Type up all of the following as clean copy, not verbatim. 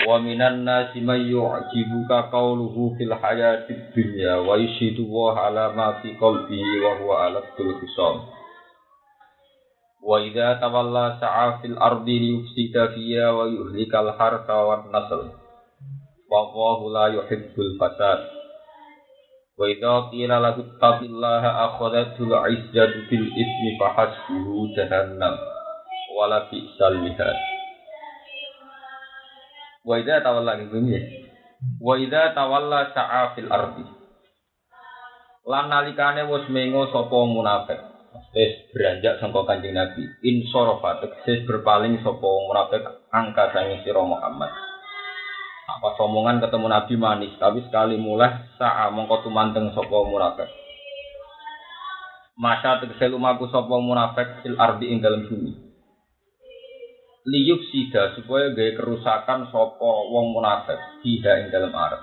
Wa minan nasi may yu'jibuka qawluhu fil hayatid dunya wa yashhadu wa ala ma fi qalbihi wa huwa aladul khisam. Wa idza tawalla sa'a fil ardi liyufsida fiha wa yuhlikal harta wan nasl. Wallahu la yuhibbul fasad. Wa idza qila lahu taqillaha akhadhatul 'izzatu bil ismi fahasbuhu jahannam wala bi'sal mihad. Wa idza tawalla ngene. Wa idza tawalla sa'a fil ardi. Lan nalikane wis mengo sapa munafik, wis beranjak sangka Kanjeng Nabi, insarafa tegese berpaling sapa munafik angka sange sira Muhammad. Apa omongan ketemu Nabi manis, tapi sekali mulai sa'a mongko tumanteng sapa munafik. Masa tegese lumaku sapa munafik fil ardi ing dalem bumi. Liyuf sida supaya gawe kerusakan sapa wong munafik fiha ing dalem arep.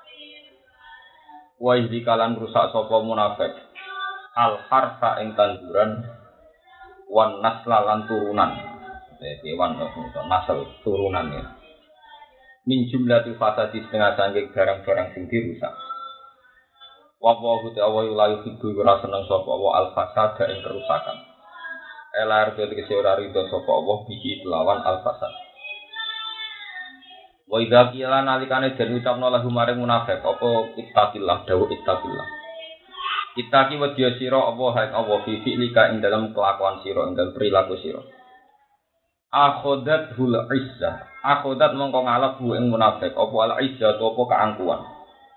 Wa izikalan rusak sapa munafik al harfa ing tanduran wan nasla lan turunan. Kewan nasl turunan ya. Min jumlatil fasadi setengah sangking barang-barang sing dirusak. Wa wa ta'ala la yuhibbu wa seneng sapa wa al fasada ing kerusakan. Elar tegese ora rido sapa Allah bihi lawan al fasad. Wa idza qila nalikane den ucapno lahu maring munafik apa ittaqillah dawuh ittaqillah. Ittaqi wedya sira apa hae Allah fi fi'lika ing dalam kelakuan sira ing dalam perilaku sira. Akhodat hul izzah. Akhodat mongko ngalap bu ing munafik apa al izzah apa keangkuhan.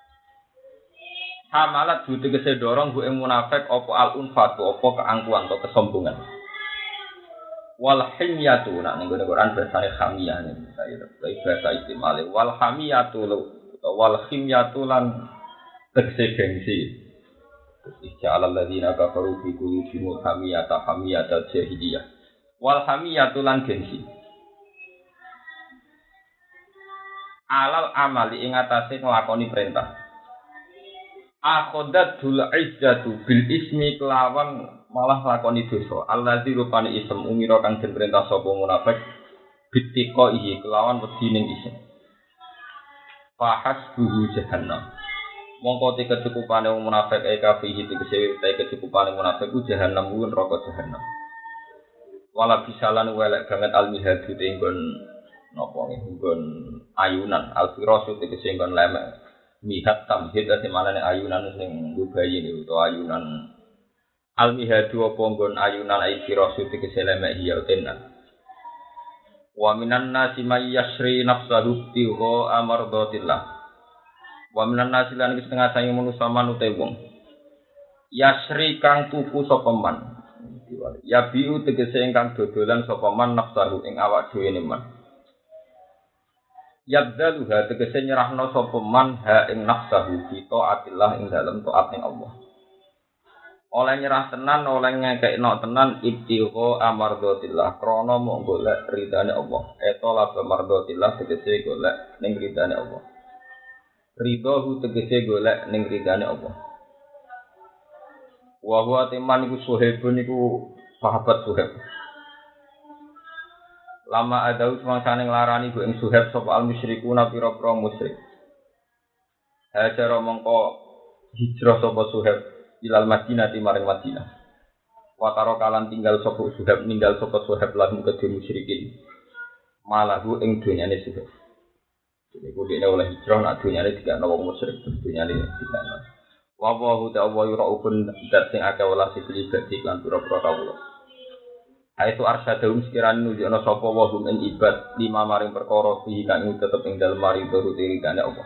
Hamalat bu tegese dorong bu ing munafik apa al unfatu apa keangkuhan atau kesombongan. Wal himyatu nak ning Quran bahasane hamiyah nih saya bahasa istimale wal hamiyatu wal himyatu lan tegese gengsi. Ija'al alladziina kafaru fi qulubihim hamiyata jahiliyah. Wal hamiyatu lan gengsi. Alal amali ing atase nglakoni perintah. Akhodatul izzatu bil ismi kelawan malah lakoni dosa. Allazi rupane isem umira kang den perintah sapa munafik bitiko iki kelawan wedine isem. Fahasbuhu jahannam. Mongko te kecukupane wong munafik kafihi tegese te kecukupane munafik ku jahannam ku neraka jahannam. Wala bisalan welek banget almihadu te nggon napa nggon ayunan alfirasu tegese nggon lemek. Mihat tamhid ate manane ayunan sing dubayi niku utawa ayunan almihadu apa nggon ayunan alfirasu tegese lemek hiya tenan. Wa minan nasi may yasri nafsahu tiho amardatillah. Wa minan nasi lan setengah sange manusa manute wong. Yasri kang tuku sapa man. Ya biu tegese ingkang dodolan sapa man nafsahu ing awak dhewe ne man. Yabdaluha tegese nyerahno sapa man ha ing nafsahu fi taatillah ing dalem taat ing Allah. Oleh nyerah tenan, oleh ngekekno tenan ibtigha amardatillah krana mung golek ridane Allah. Eta la amardatillah tegese golek ning ridane Allah. Ridho tegese golek ning ridane Allah. Wa huwa teman iku Suhaibun iku sahabat Suhaib. Lama adau semangsane nglarani ku ing Suhaib sapa al musyrikuna pira-pira musyrik. Hajar mongko hijrah sapa Suhaib ilal Madinah maring Madinah. Wa karo kalan tinggal sapa Suhaib ninggal sapa Suhaib lan kedhe musyrikin. Malahu ing dunyane Suhaib. Iku dene oleh hijrah nak dunyane dikakno wong musyrik dunyane dikakno. Wa wa ta'ala yura'ubun dat sing akeh welas iki dadi lan pira-pira kawula. Aitu arsyadahum sekiranya nunjukna sapa wa hum ing ibad lima maring perkara iki kang tetep ing dalem mari turut iridane Allah.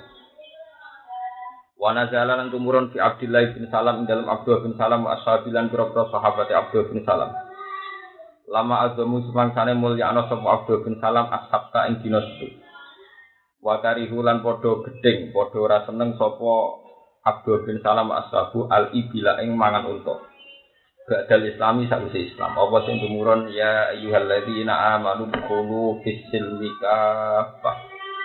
Wa nazala lan tumurun fi Abdullah bin Salam ing dalem Abdullah bin Salam ashabilan pira-pira sahabat Abdullah bin Salam. Lama azamu semangsane mulyana sapa Abdullah bin Salam ashabta ing dina setu. Wa karihulan padha gedeng, padha ora seneng sapa Abdullah bin Salam ashabu al-ibila ing mangan unta. Ba'dal Islami sakwise Islam. Apa sing tumurun ya ayyuhalladzina amanu dukhulu fis-silmi kaffah.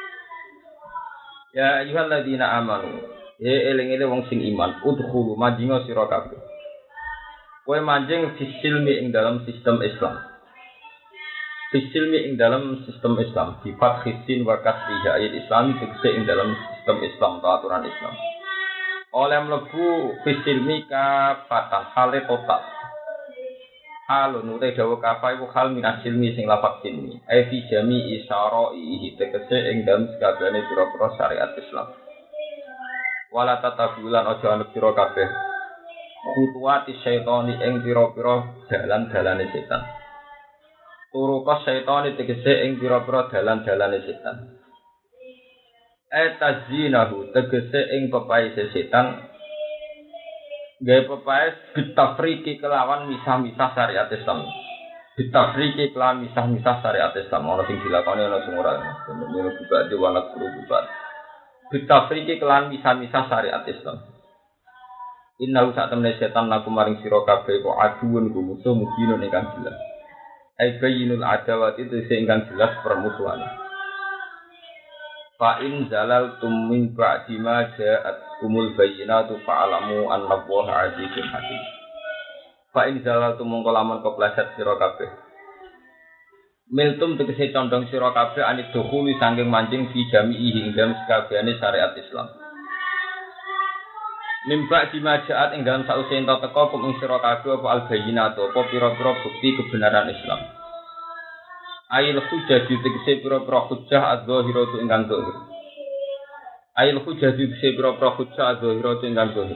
Ya ayyuhalladzina amanu. Eling-eling wong sing iman, udkhulu manjing sira kabeh. Kowe manjing fis-silmi ing dalam sistem Islam. Fisilmi ing dalam sistem Islam, sifat khisin wa kasriha ayat Islami tegese ing dalam sistem Islam atau aturan Islam. Oleh mlebu fisilmi kafatan hale total. Halun utai dawa kafa iku hal min asilmi sing lafaz silmi. Ai fi jami isyara'i tegese ing dalam sakabehane pira-pira syariat Islam. Wala tatabulan aja anut sira kabeh. Khutuwati syaitani ing pira-pira dalan-dalane setan. Turuka syaitani tegese ing pira-pira dalan-dalane setan. Tazinahu tegese ing pepaise setan. Gawe pepaes bitafriki kelawan misah-misah syariat Islam. Bitafriki kelawan misah-misah syariat Islam. Ana sing dilakoni ana sing ora. Menurut buka diwanak guru buka. Bitafriki kelawan misah-misah syariat Islam. Inna sak temne setan laku maring sira kabeh kok aduun ku musuh mubinun ingkang jelas. Ai bayyinul adawati tegese ingkang jelas permusuhan. Fa in zalaltum min ba'di ma ja'atkumul bayyinatu fa'alamu annallaha 'azizun hakim. Fa in zalaltum mongko lamun kepleset sira kabeh. Miltum tegese condong sira kabeh anit dukhuli saking mancing fi jami'i ing dalem sakabehane syariat Islam. Min ba'di ma ja'at ing dalem sause ento teka kum ing sira kabeh apa al bayyinatu apa pira-pira bukti kebenaran Islam. Ail hujjah tegese pira-pira hujjah az-zahiratu ingkang zahir. Ail hujjah tegese pira-pira hujjah az-zahiratu ingkang zahir.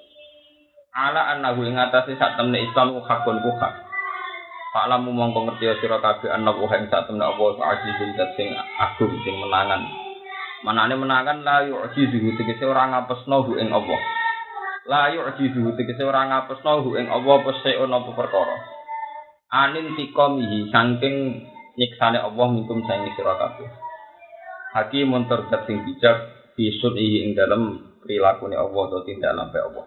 Ala annahu ing atase sak temne Islam hakun ku hak. Fa'lamu mongko ngerti sira kabeh annahu ing sak temne apa azizun sing agung sing menangan. Manane menangan la yu'jizu tegese ora ngapesno hu ing Allah. La yu'jizu tegese ora ngapesno hu ing Allah apa seon apa perkara. Anin tiqamihi saking nyiksane Allah minkum saing sira kabeh. Hakimun terdat sing bijak bisuni ing dalem prilakune Allah atau tindak lampe Allah.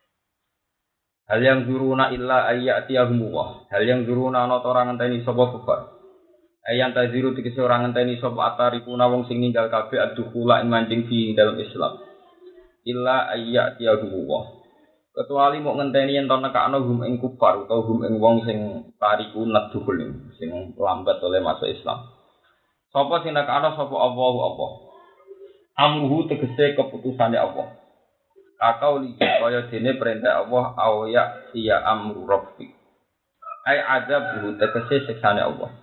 Hal yang zuruna illa ayyatiyahumullah. Hal yang zuruna ana ora ngenteni sapa kufar. Ayan taziru tegese ora ngenteni sapa atarikuna wong sing ninggal kabeh adukula ing mancing fi dalam Islam. Illa ayyatiyahumullah. Kecuali mau ngenteni yen to nekakno hum ing kufar utawa hum ing wong sing tariku nadhul sing lambat oleh masuk Islam. Sapa sing nekakno sapa Allah. Amruhu tegese keputusane Allah. Kakau li kaya dene perintah Allah awya iya amru rabbik. Ai adzabuhu tegese siksane Allah.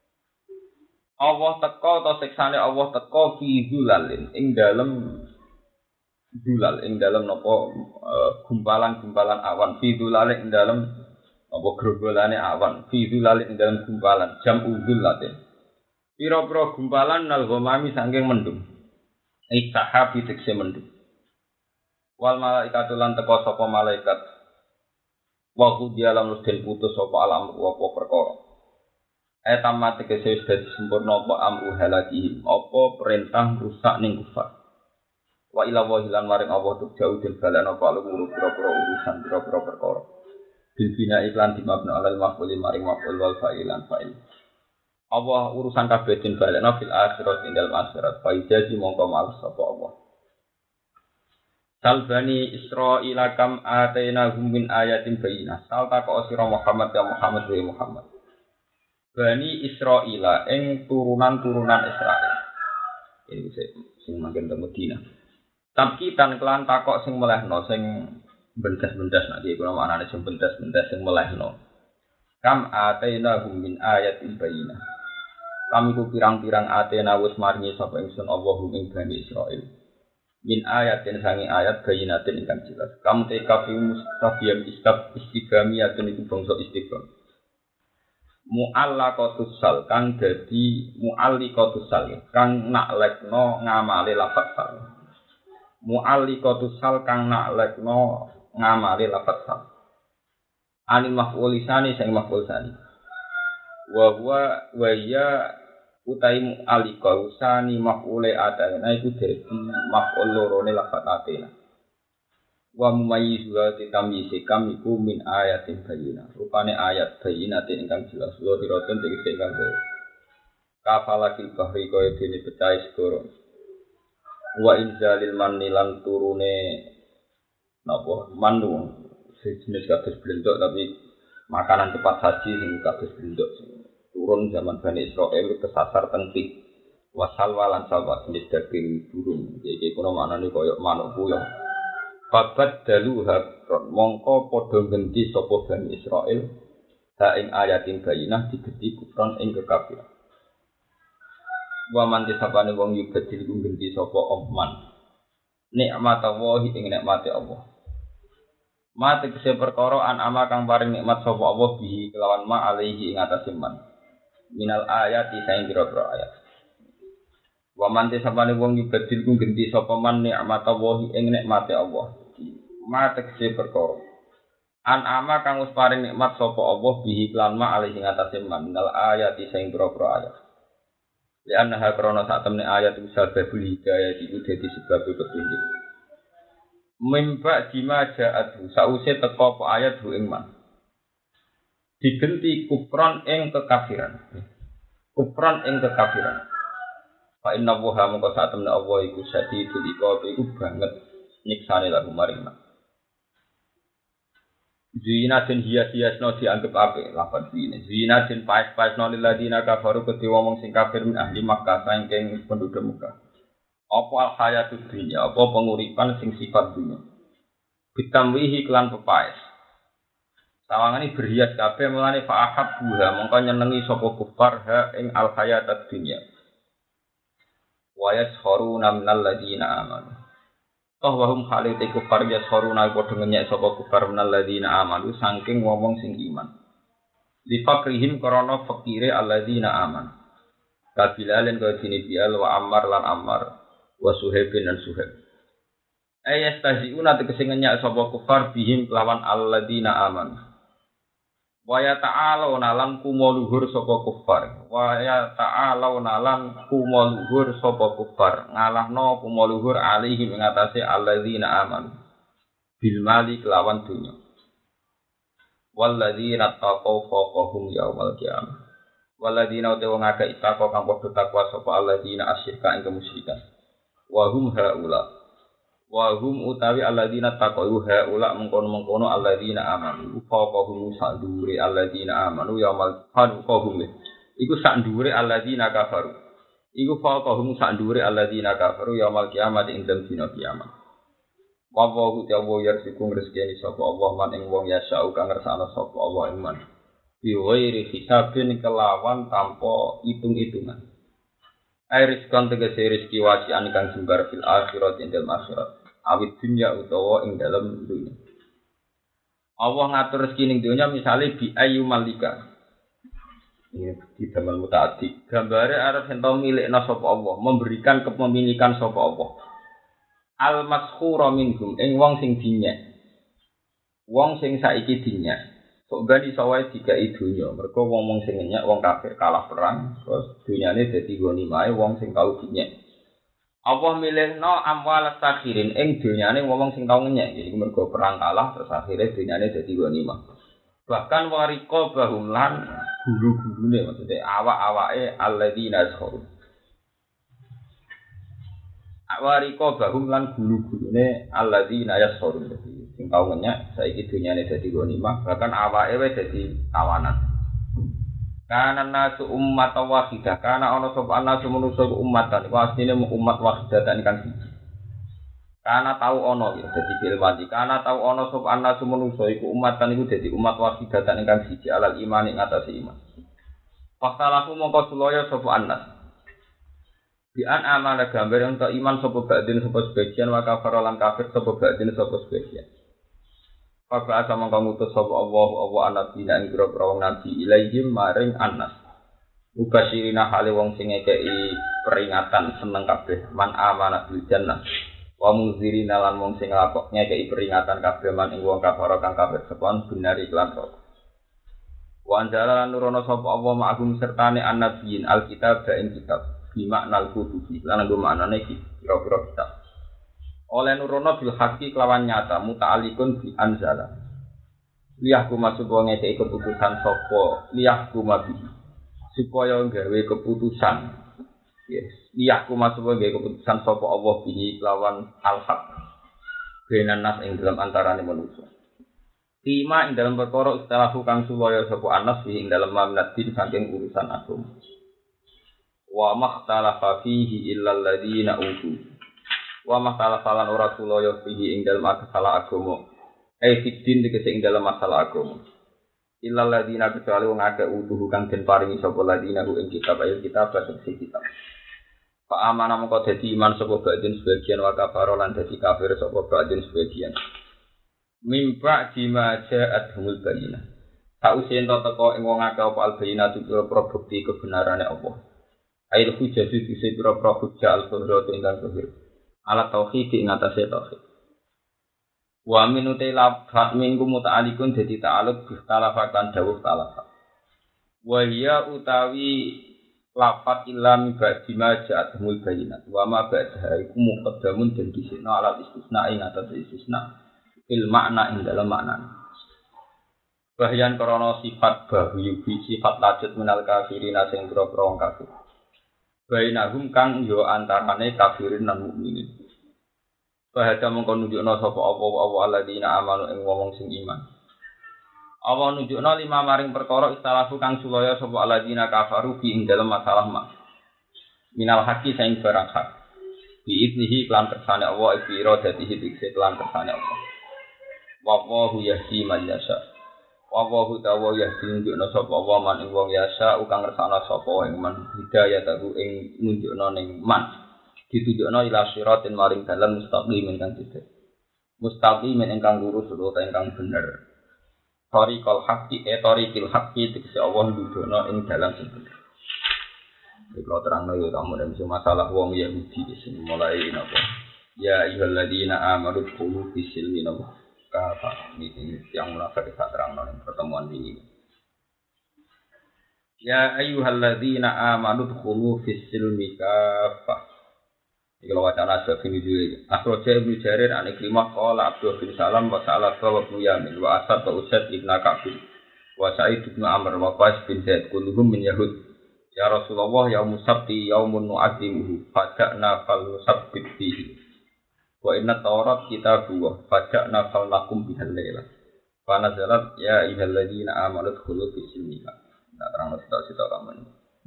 Allah teka atau siksane Allah teka fi zulalin ing dalem dulal ing dalam napa gumpalan-gumpalan awan fi dulal ing dalam apa grogolane awan fi dulal ing dalam gumpalan jam udulatin pira-pira gumpalan nal ghamami saking mendung sahabi tekse mendung wal malaikatu lan teka sapa malaikat wa qudiya lam den putus sapa alam apa perkara tamat tegese wis dadi sempurna apa amru halaki apa perintah rusak ning kufar. Wa ila wahilan maring Allah tuk jauh den balana apa luwur pira-pira urusan pira-pira perkara. Bil bina iklan dimabna alal maf'ul maring maf'ul wal fa'ilan fa'il. Allah urusan kabeh den balana fil akhirat ing dalem akhirat fa jadi mongko males sapa Allah. Sal bani Israila kam atainahum min ayatin bayyinah. Sal takok sira Muhammad ya Muhammad wa Muhammad. Bani Israila ing turunan-turunan Israel. Ini sing mangken teng Madinah. Tapi tan kelan takok sing melehno sing bendas-bendas nek iki kula maknane sing bendas-bendas sing melehno. Kam atainahum min ayatin bayyinah. Kami ku pirang-pirang atena wis maringi sapa ingsun Allahum ing Bani Israil. Min ayatin sangi ayat bayyinatin ingkang jelas. Kam tekafi mustafiyam istighamiyatun iku bangsa istigham. Mu'allaqatus sal kang dadi mu'alliqatus sal kang naklekno ngamale lafaz sal. Mu'alliqatus sal kang naklekno ngamale lafaz sal. Anil maf'ul lisani sing maf'ul sani. Wa huwa wa ya utai mu'alliqa usani maf'ule atana iku dadi maf'ul lorone lafaz atena. Wa mumayyizu tamyiz kam iku min ayatin bayyinah. Rupane ayat bayyinatin ingkang jelas lho diroten tegese ingkang kafalakil bahri kaya dene pecah segoro. Wa inzalil manilan turune napa manu sejenis kados blendok tapi makanan cepat saji sing kados blendok sing turun zaman Bani Israil kesasar tentik wasal walan salwa jenis daging burung jadi kono maknane koyo manuk puyeng babat dalu hakron mongko padha genti sapa Bani Israil ha ing ayatin bayinah digeti kufron ing kekafiran wa man disapane wong yubadil genti sapa omman nikmat Allah ing nikmate Allah mate kese perkara an ama kang paring nikmat sapa Allah bihi kelawan ma alaihi ing atase man minal ayati saing pira-pira ayat wa man disapane wong yubadil genti sapa man nikmat Allah ing nikmate Allah mate kese perkara an ama kang wis paring nikmat sapa Allah bihi kelawan ma alaihi ing atase man minal ayati saing pira-pira ayat li annaha krana sak temne ayat sababul hidayah iku dadi sebab petunjuk mimba dima ja'atu sause teka apa ayat hu ing man digenti kufran ing kekafiran fa inna wa mongko sak temne Allah iku sadidul iqab iku banget nyiksane lagu maring man zina den hias-hiasno dianggep apik lapan zina den paes-paesno lil ladina kafaru kedhe wong sing kafir min ahli Makkah saking penduduk Makkah apa al-hayatud dunya apa penguripan sing sifat dunya bitamwihi kelan pepaes sawangane berhias kabeh mulane fa'ahab buha mongko nyenengi sapa kufar ha ing al-hayatud dunya wa yasharuna minal ladina amanu toh wahum khalite kufar yasharuna padha ngenyek sapa kufar minal ladina amanu saking wong sing iman li fakrihim karana fakire alladina amanu kabilalen kaya dene Bilal wa Ammar lan Ammar wa Suhaibin dan Suhaib. Ayastaziuna tegese ngenyak sapa kufar bihim kelawan alladzina aman. Wa ya ta'aluna lan kumuluhur sapa kufar. Wa ya ta'aluna lan kumuluhur sapa kufar. Ngalahno kumuluhur alaihim ing atase alladzina aman. Bil mali kelawan dunya. Walladzina taqaw fawqahum yaumal qiyamah. Walladzina wong akeh takwa kang padha takwa sapa alladzina asyirka ing kemusyrikan. Wahum utawi alladzina taqaw haula mengkono-mengkono alladzina amanu faqahum sadure alladzina amanu yaumul qiyamah iku sadure alladzina kafaru iku faqahum sadure alladzina kafaru yaumul qiyamah ing dina kiamat wa wa ta'ala yarsikum rezeki sapa Allah man ing wong yasau kang ngersakno sapa Allah ing man bi ghairi hisabin kelawan tanpa hitung-hitungan Airis kan tegese rezeki wasian kang jembar fil akhirat ing dalem akhirat awit dunya utawa ing dalem dunya Allah ngatur rezeki ning dunya misale bi ayu malika ini di dalam mutaati gambare arep ento milikna sapa Allah memberikan kepemilikan sapa Allah al maskhura minhum ing wong sing dinyek wong sing saiki dinyek kok gani sawae dikai dunya mergo wong sing nyek wong kafir kalah perang terus dunyane dadi ghanimah wong sing tau dinyek Allah milihno amwal sakhirin ing dunyane wong sing tau nyek iki mergo perang kalah terus akhire dunyane dadi ghanimah bahkan wariko bahum lan guru-gurune maksudnya awak-awake alladzina yazkhurun wariko bahum lan guru-gurune alladzina yazkhurun sing tau ngenyak saiki dunyane dadi ghanimah bahkan awake wis dadi tawanan kana nasu ummat wahidah kana ana sapa nasu manusa ummatan iku asline umat wahidatan kan siji kana tau ana ya dadi filmati kana tau ana sapa nasu manusa iku ummatan iku dadi umat wahidatan kan siji alal iman ing atase iman paktalaku mongko sulaya sapa anas bi an amana gambar untuk iman sapa badin sapa sebagian wa kafir lan kafir sapa badin sapa sebagian Papa sama kamu ngutus sapa Allah nabi ing grobro wong nabi ilaihim maring anas. Mubashirina hale wong sing ngekeki peringatan seneng kabeh man amana bil jannah. Wa muzirina lan wong sing nglakok ngekeki peringatan kabeh man ing wong kafir kang kafir sepon binari lan rok. Wa anjala lan nurono sapa Allah ma'hum sertane annabiyin alkitab ing kitab bi maknal kutubi lan nggo maknane iki pira-pira kitab. Oleh nurono bil haqqi kelawan nyata muta'alliqun bi anzala liyahku masuk ngeke keputusan sapa liyahku mabi supaya gawe keputusan yes liyahku masuk gawe keputusan sapa Allah bihi kelawan al-haq benan nas ing dalam antarané manusa Tima ing dalam perkara istilah kang sulaya sapa Anas ing dalam mamnatin saking urusan agama. Wa makhtalafa fihi illal ladzina utu. Wa makhtalafalan ora sulaya fihi ing dalam masalah agama. Fiddin tegese ing dalam masalah agama. Illal ladzina kecuali wong akeh utuh kang den paringi sapa ladzina ing kitab ayat kitab tegese kitab. Fa amana mongko dadi iman sapa badin sebagian wa kafara lan dadi kafir sapa badin sebagian. Mimpa jima ja'at humul bayinah. Sause ento teko ing wong akeh apa albayinah pira-pira bukti kebenarane Allah. Ail hujjah dise pira-pira hujjah al-qudrat ingkang zahir. Alat tauhid ing atase tauhid. Wa minute lafat minggu muta'alikun dadi ta'aluk bi talafakan dawuh talafat. Wa hiya utawi lafat ilami ba'jima ja'at humul bayinah. Wa ma ba'daha iku muqaddamun den disikna alat istisna ing atase istisna. Il makna ing dalam makna. Bahyan krana sifat bahyu sifat lajut minal kafirin sing boro-boro wong kafir. Bainahum kang yo antarane kafirin lan mukminin. Bahada mongko nunjukna sapa apa alladzina amanu ing wong sing iman. Apa nunjukna lima maring perkara istalahu kang sulaya sapa alladzina kafaru fi ing dalam masalah mak. Minal haqi sing barang hak. Bi idnihi lan kersane Allah ibi iradatihi dikse lan kersane Allah. Wallahu yahdi man yasha. Wallahu ta'ala yahdi nunjukna sapa wa man ing wong yasha ukang ngersakna sapa ing man hidayah tahu ing nunjukna ning man ditunjukna ila siratin maring dalan mustaqim ingkang cedhak. Mustaqim ingkang lurus utawa ingkang bener. Tariqal haqqi tariqil haqqi tegese Allah nunjukna ing dalan sing bener. Iki kalau terangno yo kamu dan masalah wong Yahudi sing mulai napa. Ya ayyuhalladzina amanu qulu bisilmi napa. Ini yang munafik tak terang dalam pertemuan ini. Ya ayyuhalladzina amanu dkhulu fis silmi kafah. Iki lho wacana sebab ini juga. Akhraja Ibnu Jarir an Ikrimah qala Abdul bin Salam wa sa'ala wa Ibnu Yamin wa Asad wa Usaid ibn Ka'b wa Sa'id bin Amr wa Qais bin Zaid kulluhum min Yahud. Ya Rasulullah yaumus sabti yaumun nu'adzimuhu fada'na fal nusabbit fihi. Wa inna Taurat kitabullah faja'na fal lakum bihal laila. Fa nazalat ya ayyuhalladzina amanu dkhulu fis silmi. Nah, terang sitok kamu.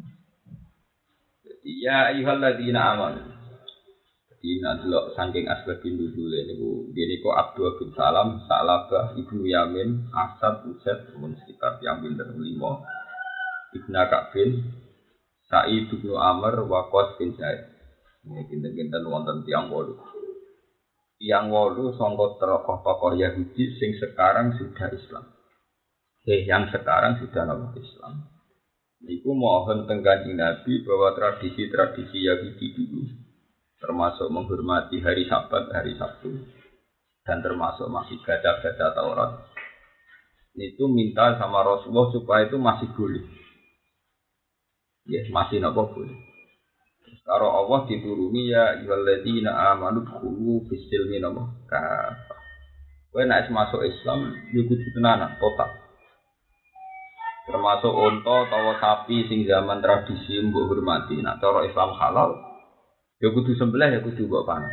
Jadi ya ayyuhalladzina amanu. Jadi nandelok saking asbabin nuzul niku niku Abdul bin Salam, Sa'labah, Ibnu Yamin, Asad, Usaid, mun sekitar yang pinten 5. Ibnu Ka'bin, Sa'id bin Amr, wa Qais bin Zaid. Ini kinten-kinten wonten tiyang 8. Yang wolu sangka tokoh-tokoh Yahudi sing sekarang sudah Islam. Yang sekarang sudah nama Islam. Iku mohon teng Kanjeng Nabi bahwa tradisi-tradisi Yahudi dulu termasuk menghormati hari Sabat, hari Sabtu dan termasuk masih baca-baca Taurat. Itu minta sama Rasulullah supaya itu masih boleh. Ya, masih napa boleh. Karo Allah dituruni ya ayyuhalladzina amanu dkhulu fis silmi kafah. Kowe nek masuk Islam yo kudu tenanan total. Termasuk unta utawa sapi sing zaman tradisi mbok hormati. Nek cara Islam halal yo kudu sembelih ya kudu mbok panen.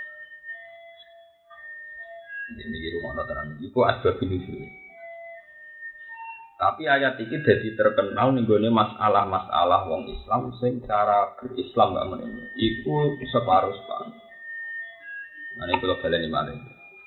Ini iki rumah tenan iku asbab nuzul. Tapi ayat ini jadi terkenal nih gue masalah-masalah wong Islam sing cara berislam gak menemu. Iku separuh. Nah ini kalau kalian dimana?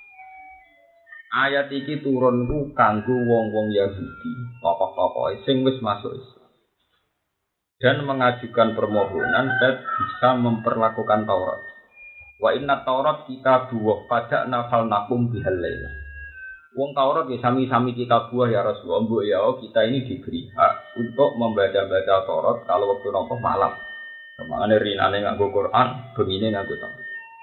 Ayat ini turun ku kanggo wong-wong Yahudi, tokoh-tokoh sing wis masuk Islam dan mengajukan permohonan dan bisa memperlakukan Taurat. Wa inna Taurat kita buah pada nafal nakum bihal laila. Wong Taurat ya sami-sami kita buah ya Rasulullah. Mbok ya kita ini diberi hak untuk membaca-baca Taurat kalau waktu nopo malam. Kemana rinane nganggo Quran, bengine nganggo Taurat.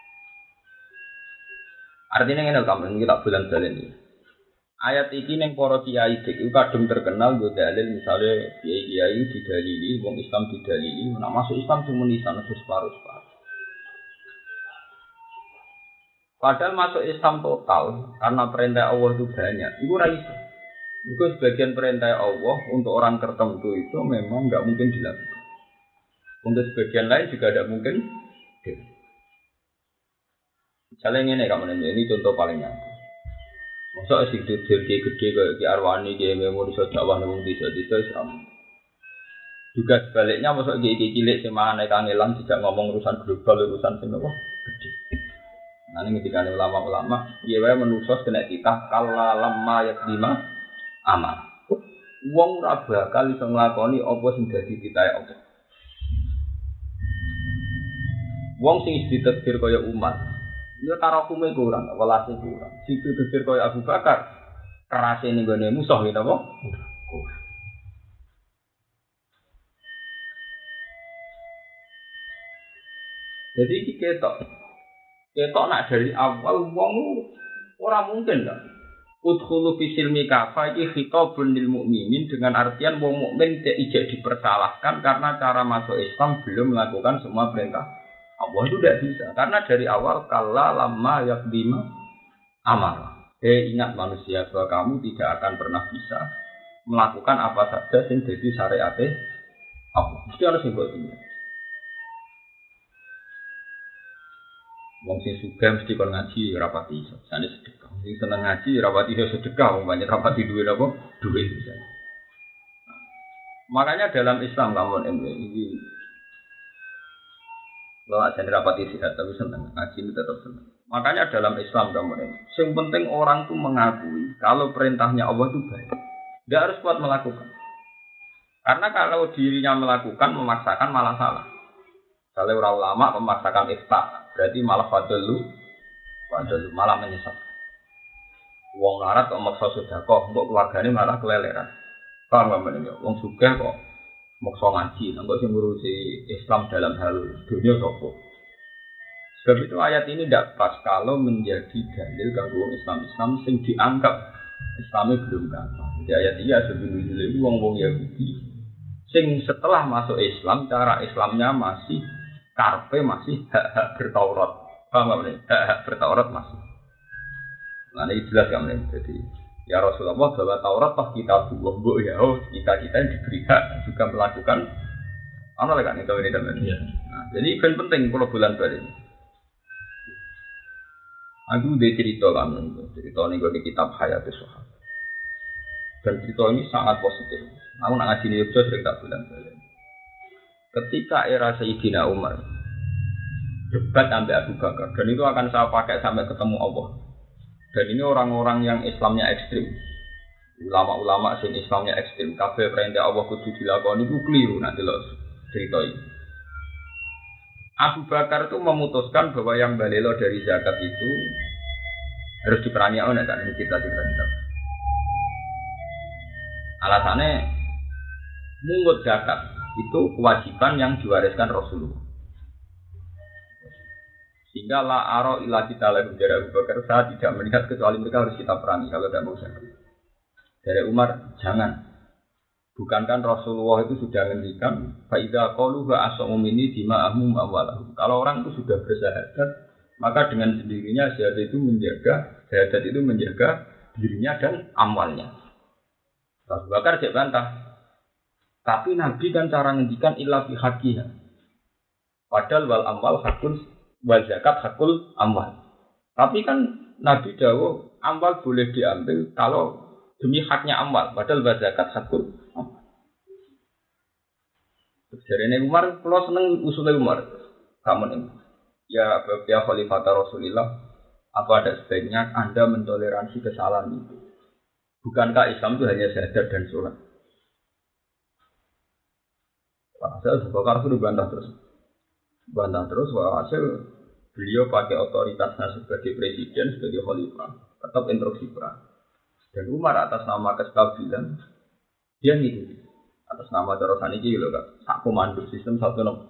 Artinya ngene kamu kita bulan-bulan ini. Ayat iki ning para kiai iki kadung terkenal go dalil misale kiai-kiai didalili wong Islam didalili nek masuk Islam cuma nisan separuh-separuh. Padahal masuk Islam total karena perintah Allah itu banyak. Itu raisa. Itu sebagian perintah Allah untuk orang tertentu itu memang enggak mungkin dilakukan. Untuk sebagian lain juga tidak mungkin. Misalnya ini kamu ini contoh paling nyata. Masa sing gede kayak Ki Arwani Ki Memo iso dakwah nang desa-desa Islam. Juga sebaliknya masa Ki cilik sing mangane kangelan tidak ngomong urusan global urusan sing apa gede. Nah ini ketika ulama-ulama ya wae manusa kena titah kala lamma yakdima amal. Wong ora bakal iso nglakoni apa sing dadi titahe Allah. Wong sing ditakdir kaya umat dia tarakume kurang, welase kurang. Situ dikir kaya Abu Bakar, kerase ning gone musuh gitu apa? Jadi iki ketok nak dari awal wong ora mungkin kan. Udkhulu fi silmi kafa iki khitabun lil mukminin dengan artian wong mukmin tidak dipersalahkan karena cara masuk Islam belum melakukan semua perintah. Allah itu tidak bisa karena dari awal kala lama yakdima amal. Ingat manusia bahwa kamu tidak akan pernah bisa melakukan apa saja yang jadi syariat Allah. Mesti harus dibuatnya. Wong sing sugih mesti kon ngaji rapati iso. Jane sedekah. Sing seneng ngaji rapati iso sedekah, wong banyak rapati duwe apa? Duwe bisa. Makanya dalam Islam kamu ini lo aja rapati sihat tapi senang ngaji itu tetap senang. Makanya dalam Islam kamu ini, yang penting orang tuh mengakui kalau perintahnya Allah itu baik. Dia harus kuat melakukan. Karena kalau dirinya melakukan memaksakan malah salah. Kalau orang ulama memaksakan ifta, berarti malah fadlu malah menyesat. Wong larat kok maksa sedekah, mbok keluargane malah keleleran. Paham gak meneh? Wong sugih kok maksa ngaji, nggak sih ngurusi Islam dalam hal dunia sapa. Sebab itu ayat ini tidak pas kalau menjadi dalil kanggo Islam sing dianggap Islami belum gampang. Jadi ayat ini sebenarnya itu wong-wong Yahudi sing setelah masuk Islam cara Islamnya masih karpe masih hak-hak bertaurat. Paham gak nih? Hak-hak bertaurat masih. Nah ini jelas gak nih? Jadi ya Rasulullah bahwa Taurat pas kita buah ya, kita yang diberi hak juga melakukan apa lagi kan itu ini teman. Nah, jadi penting kalau bulan balik. Aku udah cerita kan, cerita ini gue di kitab Hayatus Sahabat. Dan cerita ini sangat positif. Aku nak ngaji ini juga sering tak bulan balik. Ketika era Sayyidina Umar debat sampai Abu Bakar, dan itu akan saya pakai sampai ketemu Allah. Dan ini orang-orang yang Islamnya ekstrim, ulama-ulama yang Islamnya ekstrim, kabeh perintah Allah kudu dilakoni itu keliru nanti loh cerita ini. Abu Bakar itu memutuskan bahwa yang balelo dari zakat itu harus diperangi oleh kan kita. Alasannya mungut zakat itu kewajiban yang diwariskan Rasulullah. Sehingga la aro ila kita lagi dari Abu Bakar saya tidak melihat kecuali mereka harus kita perangi kalau tidak mau zakat. Dari Umar jangan. Bukankah Rasulullah itu sudah menghentikan faida qalu wa asamu minni dima'ahum awwalahu. Kalau orang itu sudah bersyahadat, maka dengan sendirinya syahadat itu menjaga dirinya dan amwalnya. Abu Bakar tidak bantah. Tapi Nabi kan cara ngendikan illa fi haqqiha. Padahal wal amwal hakun wal zakat hakul amwal. Tapi kan Nabi dawuh amwal boleh diambil kalau demi haknya amwal. Padahal wal zakat hakul amwal. Jarene Umar, kalau seneng usulnya Umar, kamu nih, ya Khalifah Rasulullah, apa ada sebaiknya Anda mentoleransi kesalahan itu? Bukankah Islam itu hanya syahadat dan sholat? Saya Bakar sudah bantah terus, hasil beliau pakai otoritasnya sebagai presiden, sebagai khalifah, tetap instruksi perang. Dan Umar atas nama kestabilan, dia ngikuti. Atas nama terusan ini loh kak, sak komando sistem 1-6.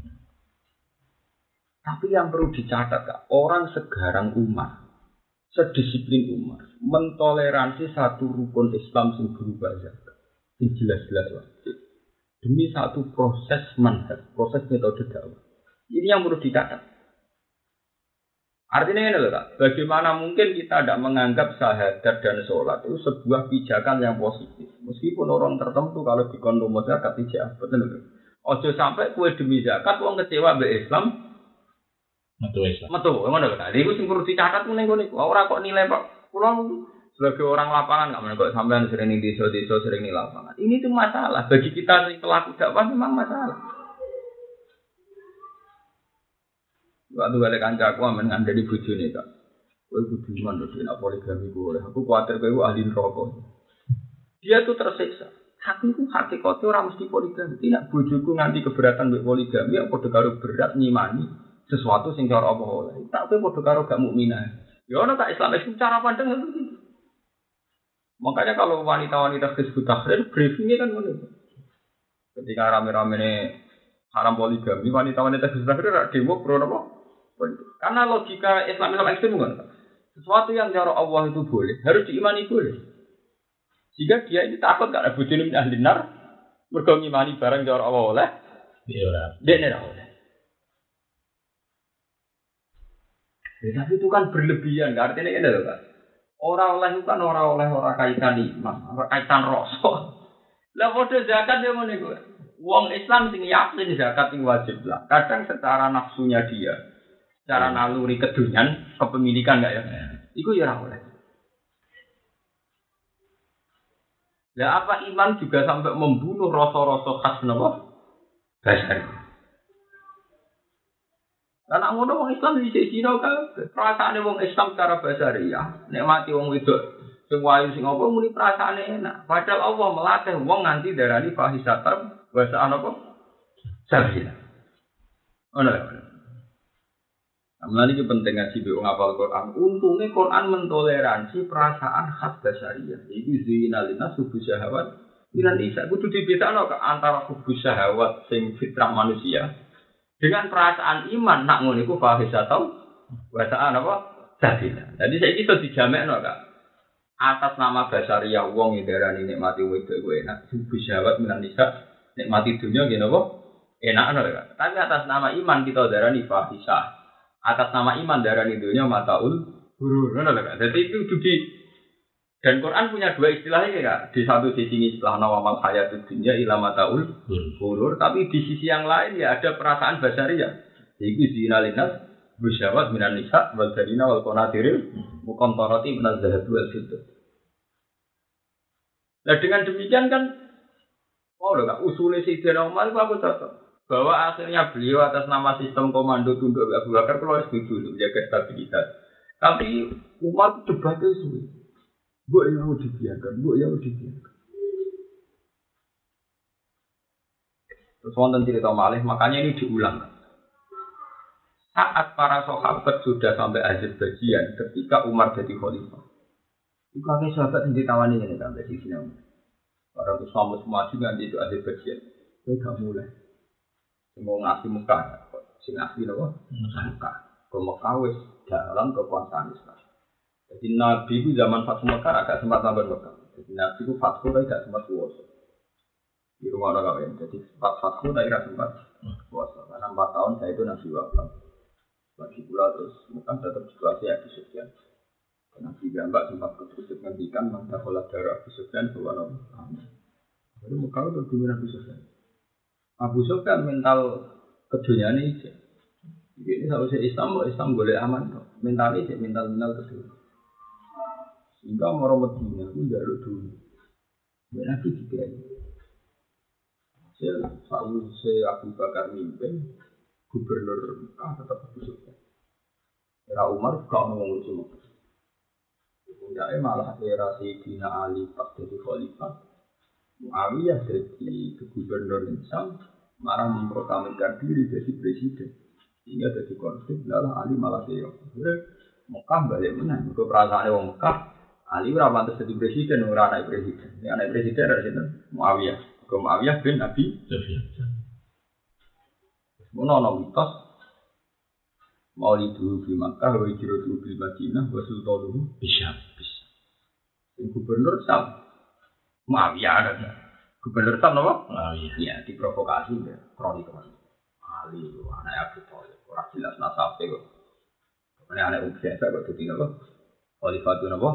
Tapi yang perlu dicatat kak, orang segarang Umar, sedisiplin Umar, mentoleransi satu rukun Islam yang berubah zakat, yang jelas-jelas wajib, demi satu proses manhaj, proses metode dakwah. Ini yang perlu dicatat. Artinya ini loh kak, bagaimana mungkin kita tidak menganggap syahadat dan sholat itu sebuah pijakan yang positif. Meskipun orang tertentu kalau dikondom zakat tidak, betul betul. Ojo sampai kue demi zakat, orang kecewa be Islam. Betul, mana kan? Ini gue singkur dicatat menengok nih. Orang kok nilai pak, pulang Sebagai orang lapangan nggak menarik kok sampean sering di desa-desa sering di lapangan. Ini tuh masalah bagi kita yang pelaku dakwah memang masalah. Waktu balik kanca aku amen ngandani bojone kak. Kowe kudu iman lho nek poligami ku oleh. Aku kuwatir kowe ahli neraka. Dia tuh tersiksa. Hati ku hakikate ora mesti poligami. Tidak bojoku nganti keberatan mbek poligami ya padha karo berat nyimani sesuatu sing cara apa oleh. Tak kowe padha karo gak mukminah. Ya ana tak Islam itu cara pandang itu. Makanya kalau wanita-wanita disebut tahrir, briefingnya kan begitu. Ketika rame-rame ini haram poligami, wanita-wanita disebut tahrir demo pro apa? Karena logika Islam ekstrem kan. Sesuatu yang cara Allah itu boleh, harus diimani boleh. Jika dia ini takut gak ada bujuni min ahli nar, mergo ngimani barang cara Allah oleh, dia ora oleh. Ya, tapi itu kan berlebihan, gak artinya ini loh kan. Orang oleh itu kan orang kaitan iman, orang kaitan rasa. Lah padha zakat yo ngene kuwi. Wong Islam sing yakin zakat sing wajib lah. Kadang secara nafsunya dia, secara naluri kedunyan, kepemilikan enggak ya? Iku ya ora oleh. Lah apa iman juga sampai membunuh rasa-rasa khas napa? Basari. Karena ngono wong Islam di sisi kabeh. Perasaane wong Islam secara basariah, nek mati wong wedok sing wayu sing apa muni perasaane enak. Padahal Allah melatih wong nganti darani fahisatar bahasa apa? Sabila. Ono lho. Amane iki penting ngaji be wong hafal Quran. Untunge Quran mentoleransi perasaan khas basariah. Iku zinalina subuh syahwat. Minan isa kudu dibedakno antara kubu syahwat sing fitrah manusia. Dengan perasaan iman nak ngono iku fahisatau bahasaan apa? Sabila. Jadi saiki iso dijamekno Kak. Atas nama basariah wong ndarani nikmati wedok kuwi enak. Subuh syahwat minan isa nikmati dunia ngene apa? Enak ana Kak. Tapi atas nama iman kita darani fahisah. Atas nama iman darani dunia mataul gurur ngono lho Kak. Jadi itu di dan Quran punya dua istilah ini Kak. Di satu sisi istilah nawamal hayatud dunya ila mataul gurur, tapi di sisi yang lain ya ada perasaan basariah. Iku zinalinas bisyawat minan nisa wal darina wal qanatiril muqantarati minaz zahab wal fiddah. Nah dengan demikian kan lho Kak, usulnya Sayyidina Umar itu aku cocok. Bahwa akhirnya beliau atas nama sistem komando tunduk Abu Bakar kalau setuju untuk menjaga stabilitas. Tapi Umar debatnya sulit. Mbok yang dibiarkan. Terus wonten cerita malih, makanya ini diulang. Saat para sahabat sudah sampai Azerbaijan ketika Umar jadi khalifah. Itu kakek sahabat yang ditawani ini sampai di sini. Orang Islam semua juga di Azerbaijan. Saya gak mulai. Mau ngasih muka, sing ngasih apa? Muka. Ke Mekah wis dalam kekuasaan Islam. Jadi Nabi itu zaman Fathu Mekah agak sempat sampai Mekah. Jadi Nabi itu Fathu tapi agak sempat puasa. Di rumah orang kawin. Jadi Fathu tapi agak sempat puasa. Karena 4 tahun saya itu Nabi wafat. Bagi pula terus Mekah tetap situasi Abu Sufyan. Nabi gambar sempat ketusuk ngendikan maka pola darah Abu Sufyan bahwa Nabi. Jadi Mekah itu dominan Abu Sufyan. Abu Sufyan mental keduniaan ini. Ini seharusnya Islam boleh aman. Mental ini mental kedua. Sehingga orang Medina itu jalur dulu. Nabi juga ini. Saya Abu Bakar mimpin, gubernur Mekah tetap Abu Sufyan. Era Umar gak ngomong cuma. Kemudian malah era Sayyidina Ali pas jadi khalifah. Muawiyah jadi gubernur Syam, marah memproklamirkan diri jadi presiden. Sehingga jadi konflik, lalu Ali malah keok. Mekah balik menang. Ke perasaan orang Mekah. Ali ora pantes dadi presiden, ora anak presiden. Ya anak presiden ada sinten? Muawiyah. Ke Muawiyah bin Abi Sufyan. Ono mitos Maulidu di Makkah wa hijratu bil Madinah wa sultanuhu Bisyam. Gubernur Syam Muawiyah ada. Gubernur Syam apa? Muawiyah. Ya diprovokasi ya, kronik kemarin. Ali anak Abu Thalib, ora jelas nasabe kok. Anak biasa kok dadi apa? Khalifatun apa?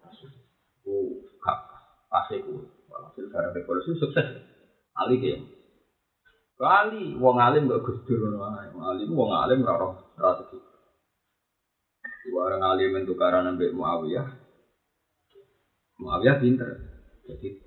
Pasiku, hasil barang revolusi sukses. Ali dia, kali wong alim gak gusdur, wong alim raro strategi. Orang alim itu karena Nabi Muawiyah, Muawiyah pinter. Jadi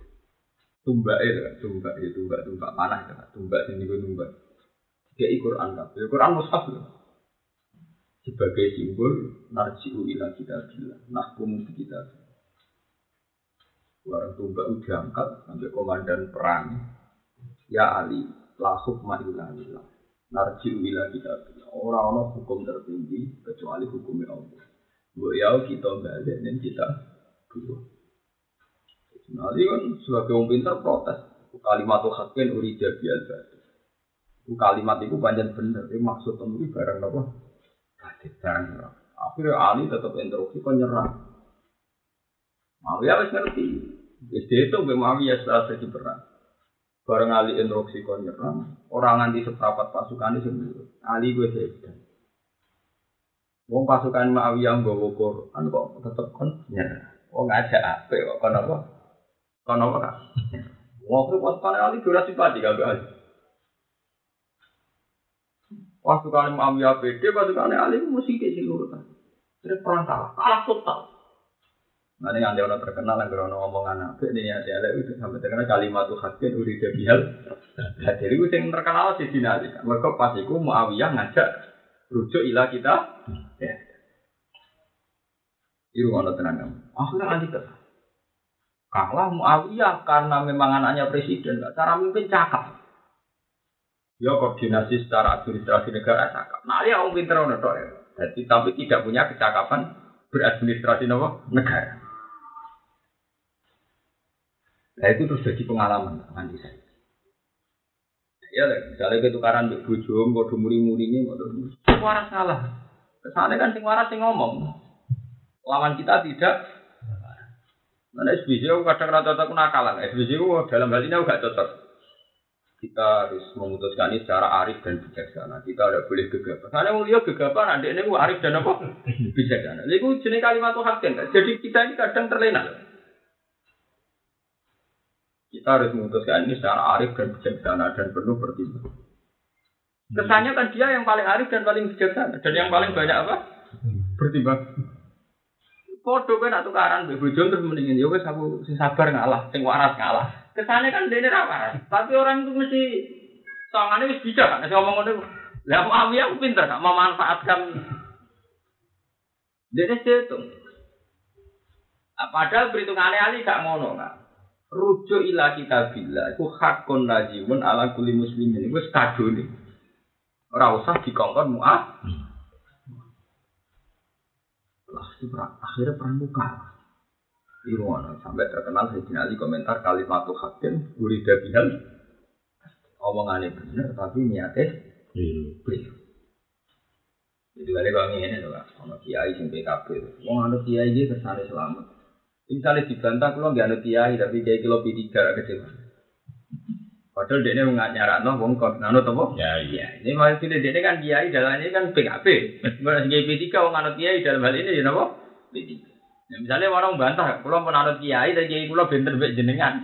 tumbak panah itu, tumbak sini gue tumbak. Dia Quran kan, Quran mushaf loh. Sebagai simbol narji'u ila kitabillah, nahkumu bi kitabillah. Barang tumbak udah angkat sampai komandan perang. Ya Ali, la hukma illa lillah. Narji'u ila kitabillah. Orang-orang hukum tertinggi kecuali hukumnya Allah. Mbok ya kita balik dan kita dua. Nanti kan sebagai orang pintar protes. Kalimat hakin urida bial batil. Kalimat itu panjang bener. Itu maksud temui barang apa? Batil barang apa? Akhirnya Ali tetap instruksi kon nyerah. Muawiyah wis ngerti. Wis itu Muawiyah setelah terjadi perang. Barang Ali instruksi kon nyerah. Orang nganti seprapat pasukan itu sendiri. Ali gue sedan. Wong pasukan Muawiyah nggawa Quran kok tetep kon nyerah. Wong ngajak apik kok kon apa? Kon apa kan? Wong pasukan Ali durasi padi kabeh Ali. Pasukan Muawiyah pede, pasukan Ali mesti sing nurutan. Terus perang kalah total. Nah ini ada orang terkenal yang berono omongan apik ini ada itu sampai terkenal kalimat hakin urida bihal. Jadi itu yang terkenal di sini. Mereka pas itu Muawiyah ngajak rujuk ilah kita. Ya. Itu orang tenang. Akhirnya Ali kalah Muawiyah karena memang anaknya presiden. Cara mimpin cakap. Ya koordinasi secara administrasi negara cakap. Nah dia orang pinter orang tua. Jadi tapi tidak punya kecakapan beradministrasi negara. Nah itu terus jadi pengalaman nanti saya. Ya misalnya ketukaran di bujum, bodoh muri-murinya, bodoh waras salah. Kesannya kan sing waras sing ngomong. Lawan kita tidak. Mana SBC kadang rata-rata nakalan. SBC dalam hal ini aku gak cocok. Kita harus memutuskan ini secara arif dan bijaksana. Kita tidak boleh gegabah. Karena mulia gegabah, nanti ini arif dan apa? Bijaksana. Itu jenis kalimat hakim. Jadi kita ini kadang terlena. Kita harus memutuskan ini secara arif dan bijaksana dan penuh pertimbangan. Kesannya kan dia yang paling arif dan paling bijaksana. Dan yang paling banyak apa? Pertimbangan. Foto kan atau karan, bebojon terus mendingin. Ya wes aku sabar ngalah, sing waras ngalah. Kesannya kan dene ra waras, tapi orang itu mesti tangane wis bijak kan, ngomong ngono. Lah Muawiyah aku pinter gak memanfaatkan dene setung. Padahal perhitungane Ali gak ngono kan. Rujuk ila kitabillah iku hakun lazimun ala kulli muslimin. Iku wis kadone. Ora usah dikongkon muah. Lah itu akhirnya perang muka. Irwana sampai terkenal Sayyidina Ali komentar kalimat hakim urida bihal. Omongannya benar tapi niatnya keliru. Jadi balik kalau ini loh, sama kiai sing PKB. Wong anu kiai iki kersane selamat. Misalnya dibantah kalau nggak anu kiai tapi kiai kilo P3 kecewa. Padahal dia ini nyarakno wong kok anu apa? Ya iya. Ini maksudnya dia kan kiai dalamnya kan PKB. Meskipun kiai P3 wong anu kiai dalam hal ini ya napa? P3. Ya, misalnya orang bantah, kalau pun anut kiai, dan kiai kulo benter bek jenengan.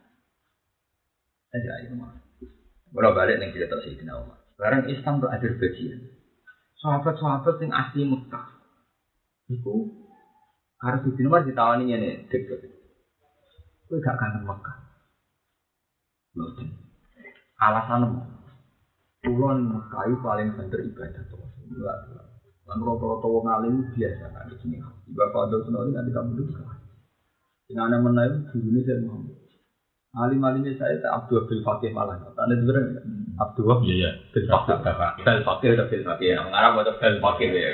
Aja ayo mah. Kalau balik yang cerita Sayyidina Umar. Sekarang Islam itu ada bagian. Sahabat-sahabat yang asli Mekah, itu harus Sayyidina Umar ditawani ini deket. Itu gak kangen Mekah. Loh, alasan pulau Mekah itu paling bener ibadah tuh. Enggak. Kan rata-rata wong alim biasa kan di sini. Bapak Abdul Sunori nanti kamu dulu. Dengan anak menaik gurune saya Muhammad. Alim-alimnya saya tak Abdul Bil Fakih malah. Tanda sebenarnya Abdul. Iya. Bil Fakih. Bil Fakih atau Bil Fakih. Mengarang atau Bil Fakih ya.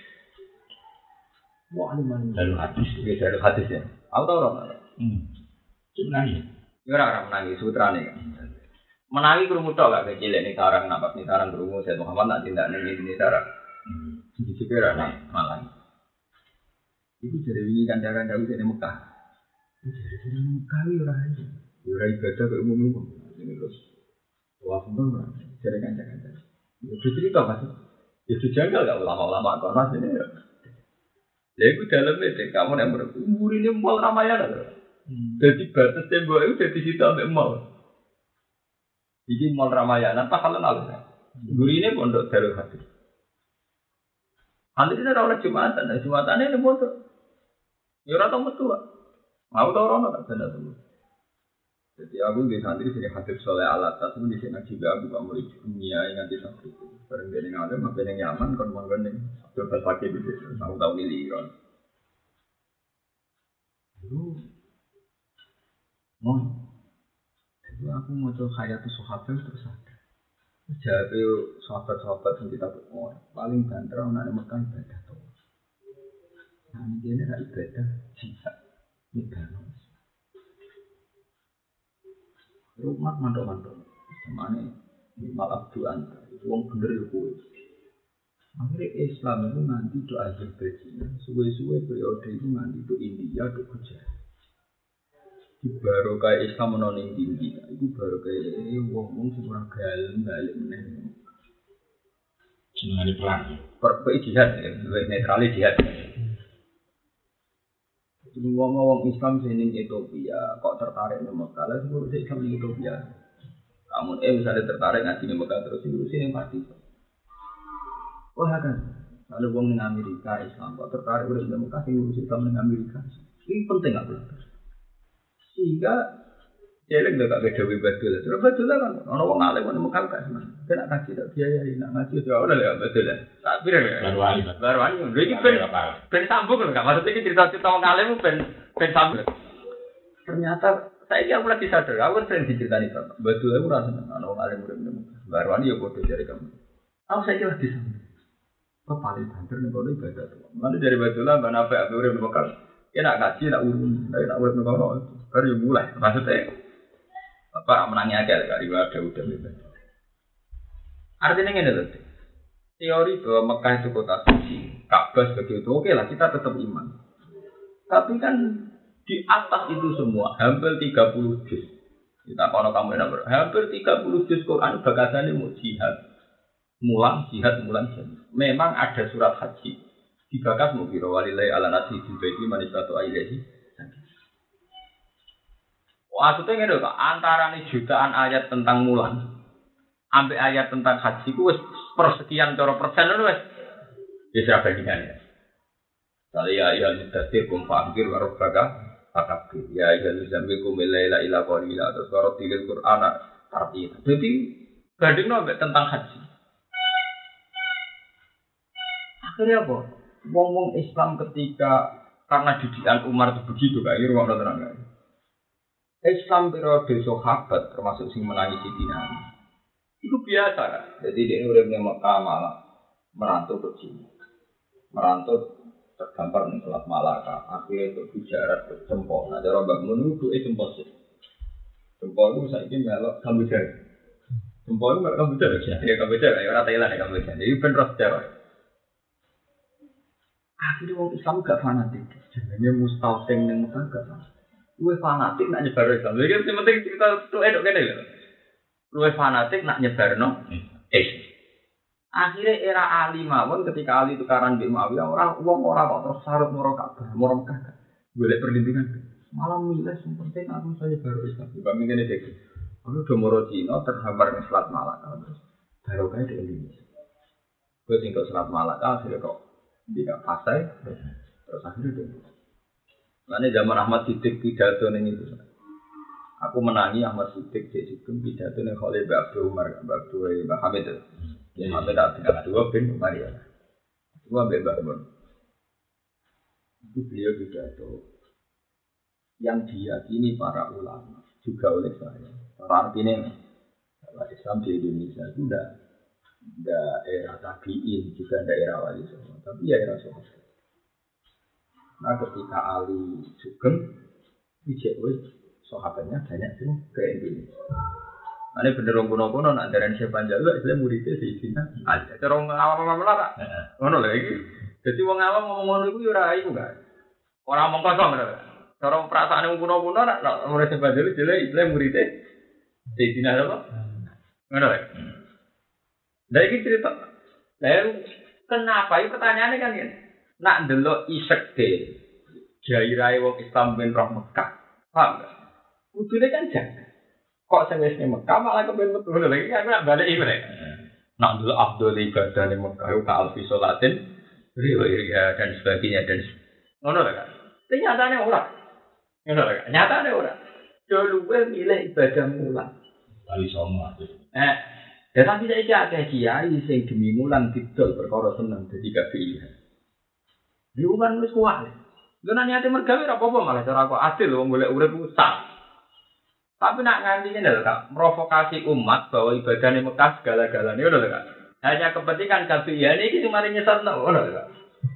Wah alim-alim. Dari hadis. Dari hadis ya. Aku tahu orang. Sebenarnya. Ya orang menangis sutrane kan. Menangi kerumuh tok gak kecil nih sarang napas nih sarang kerumuh saya Muhammad nak tindak nih sarang. Di sekitar Malang. Itu dari wingi kanca-kanca wis ning Mekah. Dari Mekah yo ora aja. Yo ora ibadah kok umum-umum. Ini terus wah bener dari kanca-kanca. Ya cerita Mas. Ya dijanggal gak ulama-ulama kok Mas ini. Ya iku daleme kamu nek umurine mall Ramayana lho. Dadi batas tembok itu dadi situ ambek mall. Iki mall Ramayana apa halal. Gurine pondok Darul Hadis. Antri ini adalah Jumatan ini bodoh. Ya orang tahu betul. Mau tau rono tak benda tuh. Jadi aku di santri sini Habib Soleh Alatas itu di sini juga aku gak mulai dunia yang nanti santri itu. Bareng dia ngalir, makin yang nyaman kon manggon ning Abdul Basaki di situ. Tahu miliron. Itu mau. Jadi aku mau coba hayat sahabat terus ada. Jadi sahabat-sahabat yang kita ketemu paling banter orang yang makan ibadah tuh. Nah ini dia nak ibadah jihad ibadah. Rumah mantok-mantok, semane malah doan. Wong bener yo kowe. Akhirnya Islam itu nanti do Azerbaijan, suwe-suwe periode itu nanti do India, do Gujarat. Di baru kayak Islam menoning tinggi, itu baru kayak wong sing ora galem balik meneh. Jenenge perang. Perpe jihad, netral jihad. Ngomong Islam sini Ethiopia, kok tertarik di Mekah? Lalu ngurus Islam di Ethiopia. Kamu misalnya tertarik ngaji di Mekah terus ngurusin yang pasti. Wah kan, lalu wong di Amerika Islam kok tertarik udah di Mekah ngurus Islam di Amerika. Ini penting nggak boleh. Sehingga jelek nggak beda betul. Terus betul kan, orang wong alim di Mekah kan, kena kasih tak biayai, nak ngaji ya udah lah betul lah. Tak biar ya. Baru ani, ini ben sambung loh, nggak maksudnya cerita-cerita orang alim ben sambung. Ternyata saya kira lagi sadar, aku sering diceritain bapak. Betul aku rasa orang alim udah minum. Baru ani ya bodoh dari kamu. Aku saya kira lagi sambung. Kok paling banter nih kalau ibadah tuh. Lalu dari betul lah, mana apa aku udah minum. Ya nak ngaji, nak urun, nak urun minum. Baru mulai, maksudnya. Apa menangnya aja kali ada udah bebas. Artinya ini loh. Teori bahwa Mekah itu kota suci, Ka'bah sebagai itu oke lah kita tetap iman. Tapi kan di atas itu semua hampir 30 juz. Kita kalau kamu enak hampir 30 juz Quran bagasannya mau jihad, mulang jihad. Memang ada surat haji. Dibakas mau biro walilai ala nasi jubaiti manisatu ailehi. Maksudnya ini loh, antara nih jutaan ayat tentang mulan, sampai ayat tentang haji, itu persekian cara persen itu bisa bandingannya. Saya ya muddatsir kum fa'angkir warobaka fakabir. Ya zambil kum ilaila ila qalila atau surat tilil Qur'an artinya. Jadi bandingnya sampai tentang haji. Akhirnya apa? Wong Islam ketika karena didikan Umar itu begitu kayak ruang terang. Islam periode sahabat termasuk sing menangis Sidina itu biasa kan. Jadi dia uripnya Mekah malah merantau ke sini. Merantau terdampar ning Selat Malaka, akhirnya ke Gujarat ke Cempol. Nah, cara Mbak Mun itu Cempol sih. Cempol itu saiki melok Kamboja. Cempol itu melok Kamboja ya. Ya Kamboja ya ora Thailand ya Kamboja. Jadi ben ros sejarah. Akhirnya wong Islam gak fanatik. Jenenge mustauting ning Mekah gak fanatik. Luwe fanatik nak nyebar Islam. Jadi yang penting kita tuh edok kene lho. Luwe fanatik nak nyebarno Islam. Akhirnya era Ali mawon ketika Ali tukaran di Muawiyah orang kok terus sarut moro Ka'bah, moro Mekah. Golek perlindungan. Malah milih yang penting aku saya baru Islam. Kami kene dek. Aku udah moro Cina terhampar ning Selat Malaka terus. Baru kae di Indonesia. Gue tinggal Selat Malaka akhirnya kok tidak pasai terus akhirnya deh. Karena zaman Ahmad Siddiq pidato ning itu. Aku menangi Ahmad Siddiq di situ pidato ning Khalil bin Abdul Umar, Abdul Hamid. Ya sampai tak tinggal dua bin Umar ya. Dua bebas pun. Itu beliau pidato yang diyakini para ulama juga oleh saya. Artinya Islam di Indonesia itu tidak era tabiin juga tidak era wali songo, tapi ya era sahabat. Nah ketika Ali sugeng, dijawab sahabatnya banyak sih ke Indonesia. Nah ini bener kuno-kuno nak dari siapa jalu, Islam muridnya Sayyidina Ali. Cara orang awam lah, ngono lagi. Jadi orang awam ngomong itu ora iku kan. Orang ngomong kosong kan. Cara perasaan yang kuno-kuno nak murid siapa jalu, Islam muridnya Sayyidina apa? Ngono lagi. Dari cerita, lalu kenapa? Ini pertanyaannya kan ya. Nak delok isek de jairai wong Islam ben roh Mekah. Paham enggak? Kudune kan jaga. Kok sing wis ning Mekah malah kepen metu lagi kan nak balik iki rek. Nak delok afdhal ibadah ning Mekah ka alfi salatin riwaya dan sebagainya dan ngono lah kan. Ternyata ora. Ngono lho. Nyatane ora. Do luwe milih ibadah mulan. Kali sono aja. Ya tapi saiki akeh kiai sing demi mulan didol perkara seneng dadi gak pilihan. Iku kan wis kuat. Lha nek niate mergawe ora apa-apa malah cara kok adil wong golek urip usah. Tapi nak nganti ngene lho Kak, provokasi umat bahwa ibadahnya Mekah segala-galanya ngono lho Kak. Hanya kepentingan kabeh iki cuma nyesatno ngono lho Kak.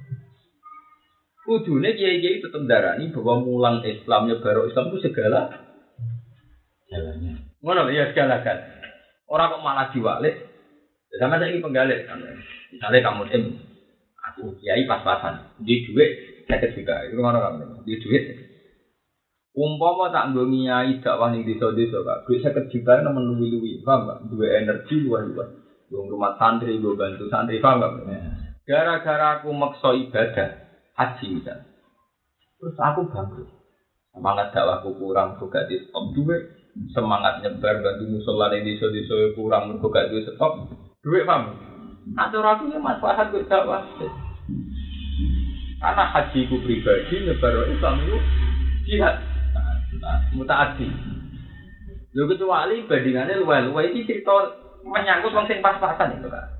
Kudune kiai-kiai tetep ndarani bahwa mulang Islam nyebar Islam itu segala Jalannya. ngono ya segala-galanya. Ora kok malah diwalik. Sama saiki penggalih kan. Misale kamu aku kiai pas-pasan, di dhuwit 50 juta. Itu ngono kan. Di dhuwit umpama tak nggo ngiyai dakwah ning desa-desa Kak, duit 50 juta nemen luwi-luwi, paham enggak? Duwe energi luwih-luwih. Wong rumah santri, nggo bantu santri, paham enggak? Gara-gara aku maksa ibadah haji misal. Terus aku bangkrut. Semangat dakwahku kurang, kok gak di stop duit. Semangat nyebar bantu musala ning desa-desa kurang, kok gak duit stop. Duit paham? Atur aku ya manfaat kok dakwah. Karena hajiku pribadi nyebar Islam itu jihad. Mutaati. Lho kecuali bandingannya luwe-luwe iki cerita menyangkut wong sing pas-pasan itu Kak.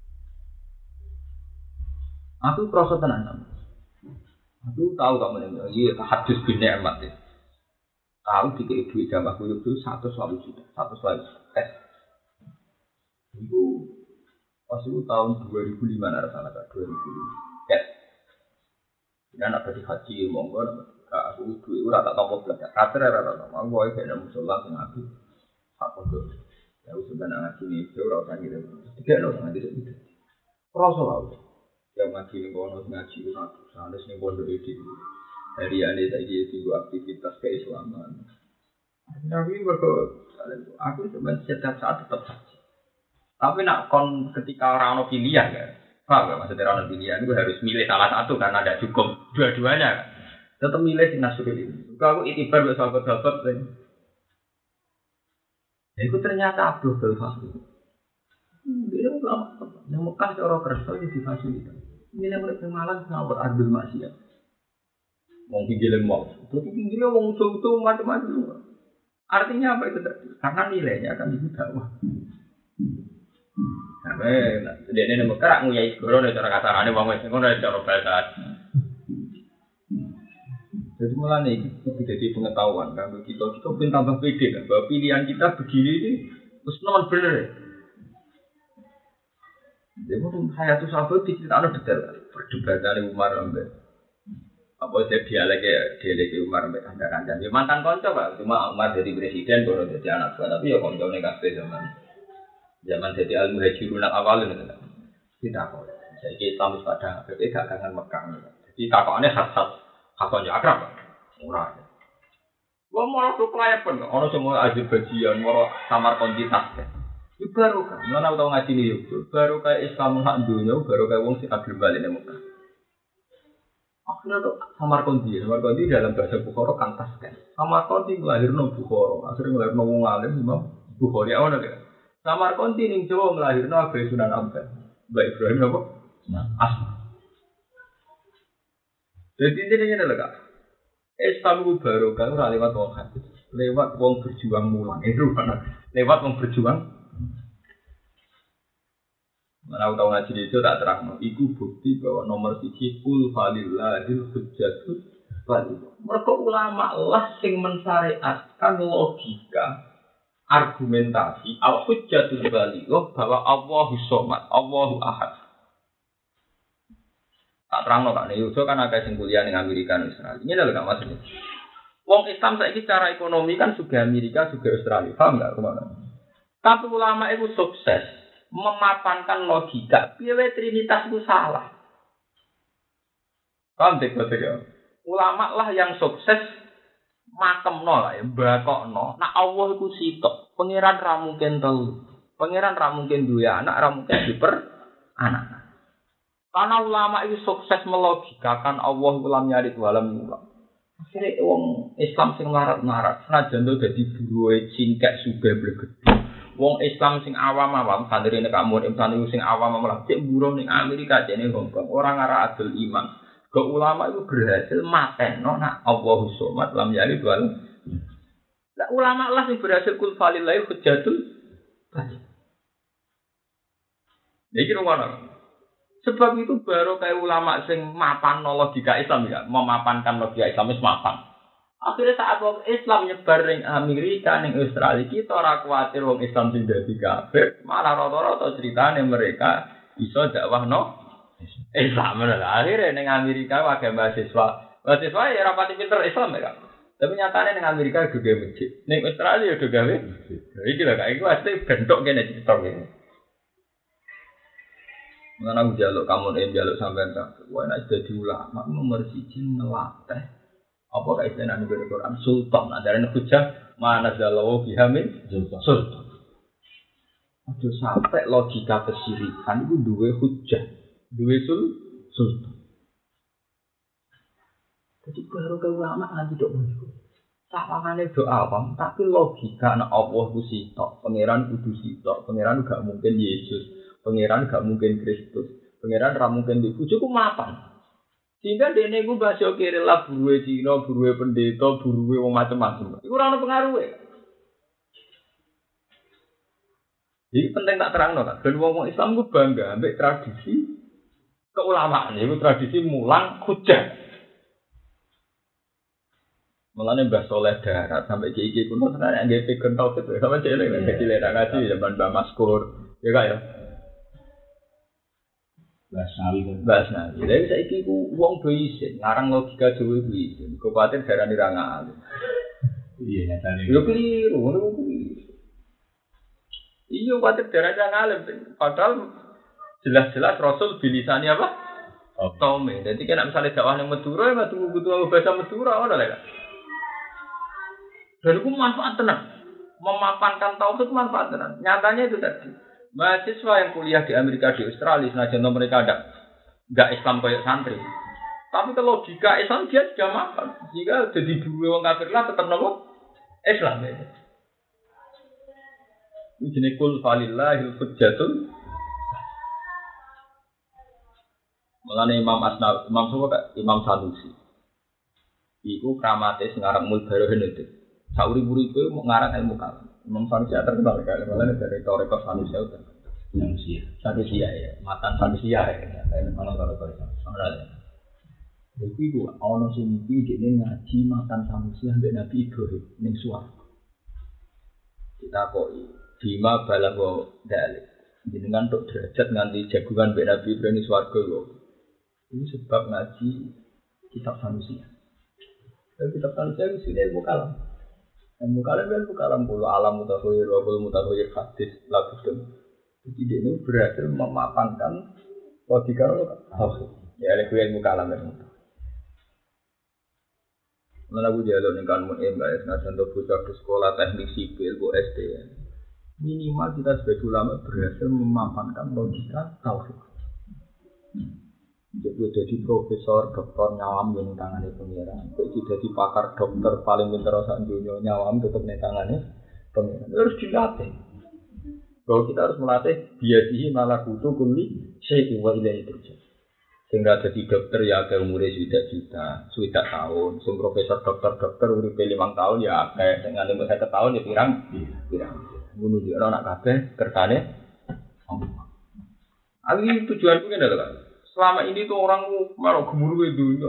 Aku krasa tenan. Aku tahu kok meneh iki hadis bin Ni'mat. Tahu dikek duit jamaah kuwi itu 120 juta, 120 tes. Itu pas itu tahun 2005 nek salah Kak, 2005. Tes. Dan apa di haji monggo aku duit ora tak tampa blas. Kater ora tak tampa. Aku wae kena musala sing aku. Apa kok. Ya wis ben ngaji iki ora usah ngene. Dikene ngaji itu. Kroso wae. Ya ngaji ning kono ngaji ora sanes ning pondok iki. Dari ane saiki itu aktivitas keislaman. Nabi aku sebenarnya setiap saat tetap haji. Tapi nak kon ketika orang ono pilihan kan. Paham gak maksudnya orang ono pilihan itu harus milih salah satu karena ada cukup dua-duanya kan. Tetap milih sing nasyuril ini. Kalau aku itibar buat sahabat-sahabat lain. Ya itu ternyata Abdul Fasih. Dia ulama. Yang Mekah orang kerja itu difasilitasi. Milih mereka malang ngawur adil maksiat. Wong pinggile mau. Tapi pinggile wong utuh macam-macam. Artinya apa itu tadi? Karena nilainya akan ibu dakwah. Nah, dene Mekah nguyai segoro nek cara kasarane wong wis ngono cara bahasa. Jadi malah nih itu jadi pengetahuan kan kita pun tambah pede kan bahwa pilihan kita begini ini terus non bener. Jadi mungkin saya tuh sahabat diceritakan detail perdebatan Umar sampai apa dia dialek Umar sampai kancan-kancan. Ya mantan konco Pak, cuma Umar jadi presiden baru jadi anak buah tapi ya konco nih kabeh zaman jadi al-muhajirun awalin itu kan. Tidak kok. Jadi Islam pada gak kangen Mekah. Jadi kakaknya khas kakaknya akrab, murah. Gua malah tuh kelayapan, orang semua Azerbaijan, mau samar kontitas kan. Itu baru kan, mana tahu ngaji nih yuk, baru kayak Islam hak dunia, baru kayak wong sih agil balik nih Mekah. Akhirnya tuh samar konti dalam bahasa Bukhara kantas kan. Samar konti melahirkan Bukhara, akhirnya melahirkan wong alim Imam Bukhari awalnya kan. Samar konti nih Jawa melahirkan Abu Sunan Ampel, Mbak Ibrahim apa? Asma. Jadi intinya adalah Kak, Islam itu baru kan lewat wong hadis, lewat wong berjuang mulang itu kan, lewat wong berjuang. Mana tahu ngaji itu tak terang, itu bukti bahwa nomor 1 kul falillahil hujjatul baligh. Mereka ulama lah sing mensyariatkan logika, argumentasi al hujjatul baligh bahwa Allahu somad, Allahu ahad. Tak terang Kak Neyuso kan ada sing kuliah ning Amerika dan Israel. Ini lho Kak maksudnya. Wong Islam saiki secara ekonomi kan juga Amerika juga Australia. Paham enggak kemana? Tapi ulama itu sukses memapankan logika. Piye trinitas itu salah. Paham tidak ya? Ulama lah yang sukses makemno lah ya, bakokno. Nah Allah iku sitok. Pangeran ra mungkin telu. Pangeran ra mungkin duwe anak, ra mungkin diper anak. Karena ulama itu sukses melogikakan Allah ulam nyarit walam ulam. Akhirnya wong Islam sing larat-larat, senajan to dadi buruhe cingkek sugih blegedhe. Wong Islam sing awam-awam, santri nek kamu santri sing awam malah cek buruh ning Amerika cek ning Hongkong, ora ngara adil iman. Ke ulama itu berhasil mateno nak Allahu somad lam yalid wa lam. Lah ulama lah sing berhasil kul falillahi hujjatul baligh. Iki ngono. Sebab itu baru kayak ulama sing mapan logika Islam ya, memapankan logika Islam wis mapan. Akhirnya saat wong Islam nyebar ning Amerika ning Australia kita ora kuwatir wong Islam sing dadi kafir, malah rata-rata ceritane mereka iso dakwahno Islam. Akhirnya ning Amerika wae mahasiswa. Mahasiswa ya rapati pinter Islam ya. Tapi nyatane ning Amerika juga masjid. Ning Australia juga gawe. Iki lho kaya iku asli bentuk kene cerita kene. Mana aku jaluk kamu jaluk sampean tak. Wah nek dadi ulama nomor 1 ngelatih. Apa kae istilahane di Quran sultan adarane hujah mana zalawu bihamin sultan. Aduh sampai logika kesyirikan itu duwe hujah, duwe sultan. Jadi baru ke ulama nanti dok menurut. Sawangane doa awam, tapi logika nek Allah ku sitok, pangeran kudu sitok, pangeran gak mungkin Yesus. Pangeran gak mungkin Kristus, pangeran ra mungkin di bojoku mapan. Sehingga dene ku bahasa kiri lah buruwe Cina, buruwe pendeta, buruwe wong macam-macam. Iku ora ono pengaruhe. Iki penting tak terangno kan. Ben wong Islam ku bangga ambek tradisi keulamaan, iku tradisi mulang hujah. Mulane Mbah Soleh Darat sampai iki kuno tenan nggih peken tauhid sampe cilik nek cilik ngaji zaman Mbah Maskur. Ya kak ya. Basnawi. Lha saiki ku wong do isin, ngarang logika Jawa ku isin. Kuwatir darani ra ngal. Iya nyatane. Yo keliru, ngono kuwi. Iya kuwatir darani ra ngal, padahal jelas-jelas Rasul bilisani apa? Tome. Dadi kena misale dakwah ning Madura, ya kudu bahasa Madura ngono lho. Dan itu manfaat tenan. Memapankan tauhid manfaat tenan. Nyatanya itu tadi. Mahasiswa yang kuliah di Amerika, di Australia, senajan mereka enggak Islam kayak santri. Tapi kalau logika Islam dia sudah makan. Jika jadi dua orang kafir lah tetap nopo Islam ya. Ini jenis kul falillahil hujjatul. Mulane Imam Sanusi. Iku kramate sing aran Mulbarohin itu. Sauri-uripe mau ngarang ilmu kalam. Imam Sanusi terkenal kali malah dari Toreko Sanusi itu. Sanusi ya, matan Sanusi ya. Kalau Sanusi. Jadi itu ono sing iki dene ngaji matan Sanusi ambek Nabi Ibrahim ning swarga. Kita kok bima balago dalil. Jenengan tok derajat nganti jagungan mbek Nabi Ibrahim ning swarga lho. Ini sebab ngaji kitab Sanusi. Kitab Sanusi itu ilmu kalam. Ilmu kalam puluh alam mutakhir wa qul mutakhir hadis labudun. Jadi dia ini berhasil memapankan logika tauhid. Ya oleh ilmu kalam itu. Mana aku dialog dengan kamu MBS nasional untuk bocah ke sekolah teknik sipil bu SD. Minimal kita sebagai ulama berhasil memapankan logika tauhid. Jadi profesor, doktor nyawam yang tangannya pengiran. Jadi pakar dokter paling pintar sak dunia nyawam tetap di tangannya pengiran. Harus dilatih. Kalau kita harus melatih biasihi malah kutu kuli syai'in wa ilaihi turja'un. Sehingga jadi dokter ya ke umurnya sudah tahun. Sing profesor dokter uripe 5 tahun ya kayak dengan 5 tahun ya pirang. Bunuh dia anak kabeh kertane. Ali tujuanku ngene lho Kak. Selama ini tuh orang malah gemuruh itu.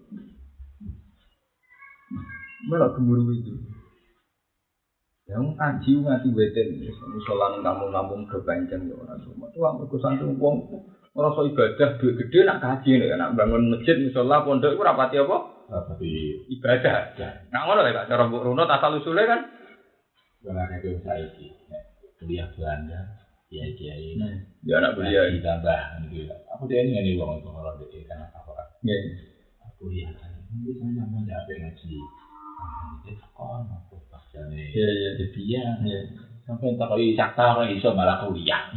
Malah gemuruh itu. Yang kaji ngati weten, misalnya kampung-kampung kebanyakan orang semua. Tuh aku santri uang merasa ibadah duit gede nak kaji nih, nak bangun masjid misalnya pondok itu rapati apa? Rapati ibadah. Nah ngono lah Kak, cara Mbok Runo asal usulnya kan. Karena itu saya kuliah Belanda. Kiai-kiai ya anak kuliah ditambah gitu. Aku dia ini wong itu orang dek kan apa orang. Aku ya ini saya mau nyampe ngaji. Itu kon aku pasane. Iya dia. Sampai tak kali sakta ora iso malah kuliah.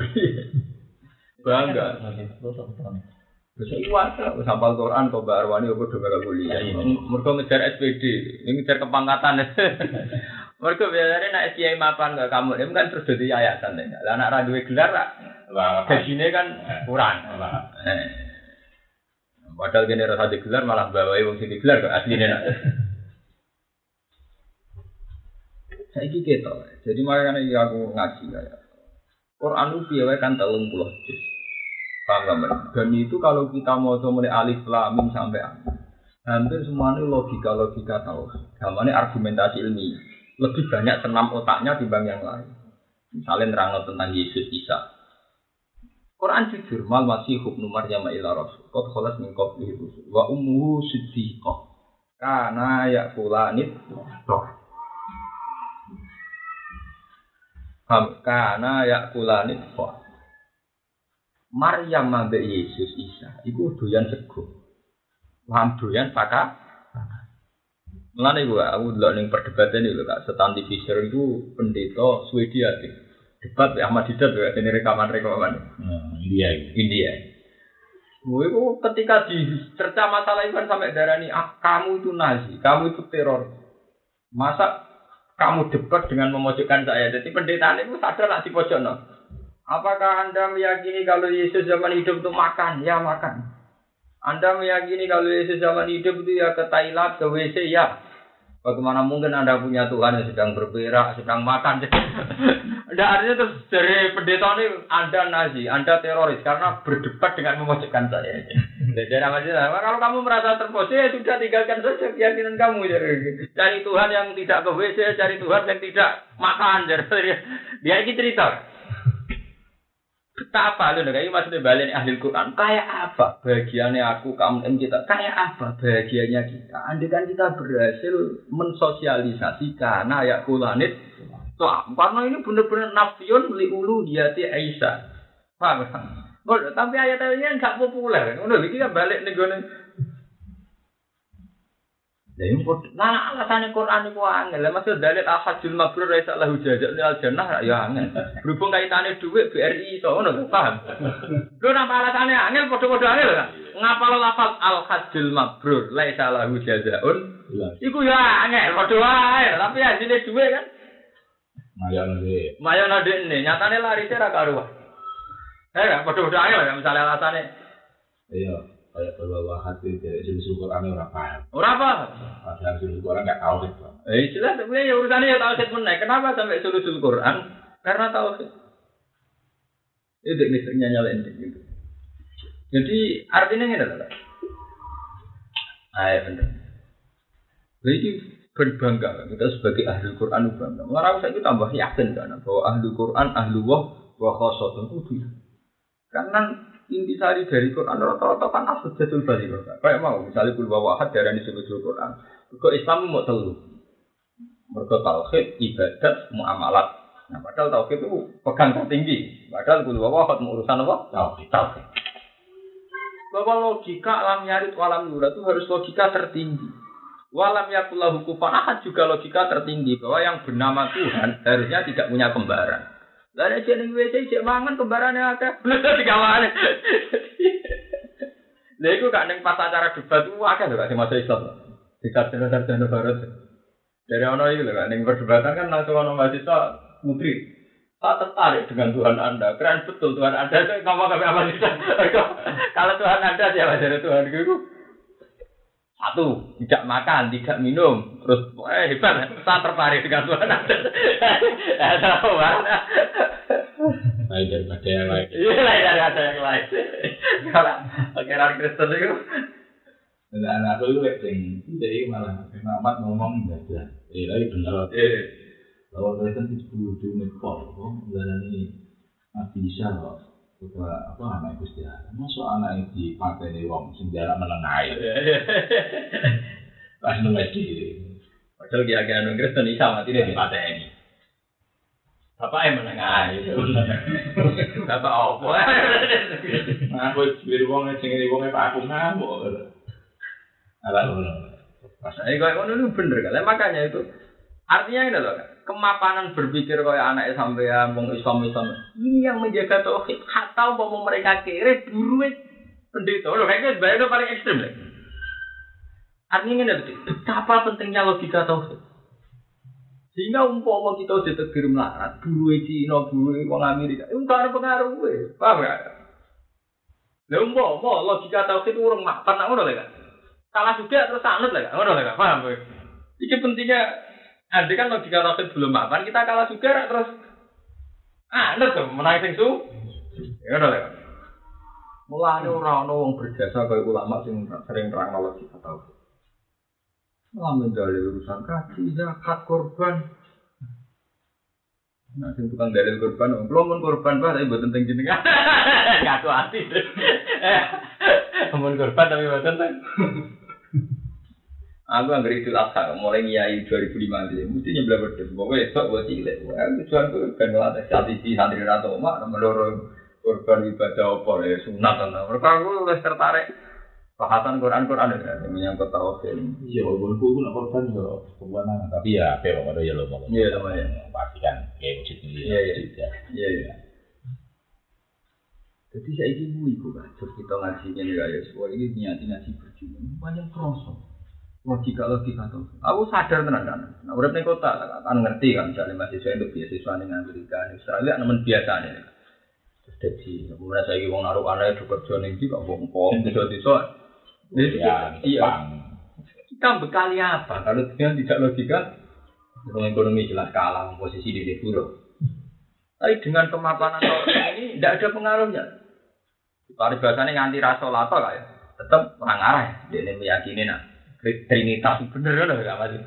Bangga. Terus iwat sampal Quran kok Mbak Arwani kok do bakal kuliah. Mergo ngejar SPD, ini ngejar kepangkatan. Mereka biasanya nak kiai mapan ke kamu, ini kan terus jadi yayasan deh. Lah anak radio gelar lah, gajinya kan kurang. Padahal kene rasa digelar malah bawahi wong sing digelar kok asline nak. Saiki ketok. Jadi makanya aku ngaji kayak Quran itu piye wae kan 30 juz. Paham enggak? Dan itu kalau kita mau mulai alif lam mim sampai hampir semuanya logika tahu. Gamane argumentasi ilmiah. Lebih banyak senam otaknya dibanding yang lain. Misalnya nerangno tentang Yesus Isa. Quran jujur mal masih ibnu Maryam ila rasul. Qad khalas min qablihi rusul wa ummuhu siddiqah. Kana yaqulanit toh. Kana yaqulanit toh. Maryam ambek Yesus Isa iku doyan sego. Lan doyan paka. Mulane aku delok ning perdebatan iki lho Kak, Stanley Fischer itu pendeta Swedia iki. Debat Ahmad Didat ya ini rekaman. India. Itu ketika dicerca masalah itu kan sampai darani kamu itu Nazi, kamu itu teror. Masa kamu debat dengan memojokkan saya? Jadi pendeta itu sadar lah di pojokno. Apakah Anda meyakini kalau Yesus zaman hidup itu makan? Ya makan. Anda meyakini kalau Yesus zaman hidup itu ya ke toilet, ke WC ya. Bagaimana mungkin Anda punya Tuhan yang sedang berberak, sedang makan? Ada artinya terus dari pendeta ini Anda Nazi, Anda teroris karena berdebat dengan memojokkan saya. Jadi kalau kamu merasa terpojok ya sudah tinggalkan saja keyakinan kamu. Cari Tuhan yang tidak ke WC, cari Tuhan yang tidak makan. Dia ini cerita. Betapa lho kayak maksudnya balen ahli Quran kayak apa bahagiannya aku kamu dan kita kayak apa bahagianya kita andai kan kita berhasil mensosialisasi karena ayat kulanit karena ini benar-benar nafiyun liuluhiyati Aisyah paham kan? Tapi ayat-ayatnya enggak populer udah iki kan balik nih gue Lah ini alasannya Quran itu angel. Maksud dalil al-hajjul mabrur laisa lahu jazaa'un al jannah ya angel. Berhubung kaitane dhuwit BRI iso ngono paham. Lho napa alasannya angel padha-padha angel kan? Ngapal lafaz al-hajjul mabrur laisa lahu jazaa'un. Iku ya angel padha wae, tapi hasilnya dhuwit kan. Mayono dekne, nyatane larise ra karuan. Padha-padha angel misalnya alasannya. Iya. Kayak bahwa hati dari sisi Quran orang paham. Orang paham. Padahal sisi Quran nggak tahu itu. Jelas sebenarnya ya urusannya ya tauhid meneh. Kenapa sampai sulusul Quran? Karena tauhid. Itu misalnya nyalain gitu. Jadi artinya ini adalah. Benar. Jadi berbangga kita sebagai ahli Quran bangga. Mengarang saya itu tambah yakin kan bahwa ahli Quran ahli wa khosot itu. Karena intisari dari Quran rata-rata kan asjatul bali kok. Kayak mau misalnya kul wahad darani sulusul Quran. Kok Islam mau telu. Mergo tauhid, ibadat, muamalat. Nah, padahal tauhid itu pegang tertinggi. Padahal kul wahad urusan apa? Tauhid. Bahwa logika alam yarid walam yurad itu harus logika tertinggi. Walam yakullahu kufuwan ahad juga logika tertinggi bahwa yang bernama Tuhan harusnya tidak punya kembaran. Lah nek jeneng WC cek mangan kembarane akeh. Bener digawane. Lha iku gak ning pas acara debat ku akeh lho gak sing masuk Islam. Di sarjana barat. Dari ono iki lho gak ning perdebatan kan langsung ono mahasiswa putri. Saya tertarik dengan Tuhan Anda. Keren betul Tuhan Anda itu ngomong ke apa sih? Kalau Tuhan Anda siapa dari Tuhan itu? Satu, tidak makan, tidak minum, terus hebat, saya tertarik dengan Tuhan Anda. Tahu mana? Lain daripada yang lain. Iya, lain daripada yang lain. Kalau akhirnya Kristen itu, dan aku itu jadi malah Ahmad ngomong enggak. Lagi benar. Kalau Kristen itu kudu nekor, dan ini bisa kok. Apa anak Gusti Allah. Masuk anak di patene wong sing jarak menengae. Pas nunggu padahal kiai-kiai nang Kristen isa mati di patene. Bapak yang menengae. Bapak opo? Aku biru wong sing ngene wong aku ngamuk. Ala ngono. Pas iki kok ngono bener kan. Makanya itu artinya ini loh, kemapanan berpikir kayak anak sampean wong Islam ini yang menjaga tauhid. Atau mau mereka kere buru pendeta. Loh kayaknya itu paling ekstrem lah. Artinya ini betapa pentingnya logika tauhid. Sehingga umpama kita ditegir melarat, buru Cina, buru wong Amerika, itu gak ada pengaruh. Paham gak? Lha umpama logika tauhid urung mapan nak ngono lho kan. Salah juga terus sanut lho kan. Ngono lho kan. Paham kowe? Iki pentingnya andai kan logika tauhid belum mapan kita kalah juga terus anut to menang sing su. Ngono lho kan. Mulane ora ono wong berjasa kaya ulama sing sering nerangno logika tauhid. Malah dalil urusan kaji, zakat, korban. Nah, sing tukang dalil korban, belum korban bah, tapi buat tentang jenengan. Ngaku hati. Amun korban tapi buat tentang. Aku anggere Idul Adha mulai ngiyai 2005 mesti nyebelah wedhus. Pokoke esuk buat cilik. Tujuanku ben ngelatih strategi santri ra tomak meloro korban ibadah apa ya sunat ana. Mergo aku wis tertarik bahasan Quran yang menyangkut tauhid. Iya, walaupun aku nak korban yo kebuanan, tapi ya apa ada ya lo mau. Iya, lumayan. Pastikan kayak wujud ini. Iya. Jadi saya ini ibu kan, terus kita ngajinya nih guys. Wah ini ngaji berjuang, banyak kroso. Logika tuh. Aku sadar tenan kan. Nah, urip ning kota kan ngerti kan, misalnya mahasiswa itu beasiswa ning Amerika, ning Australia nemen biasa nih. Terus jadi, kemudian saya wong naruh anake kerja ning iki kok wong desa-desa. Iya. Kita bekali apa? Kalau tidak logika, ekonomi jelas kalah, posisi di buruk. Tapi dengan kemapanan ini tidak ada pengaruhnya. Paribasane nganti rasa lato kaya, tetap orang arah. Dia meyakini Trinitas bener loh, enggak masih.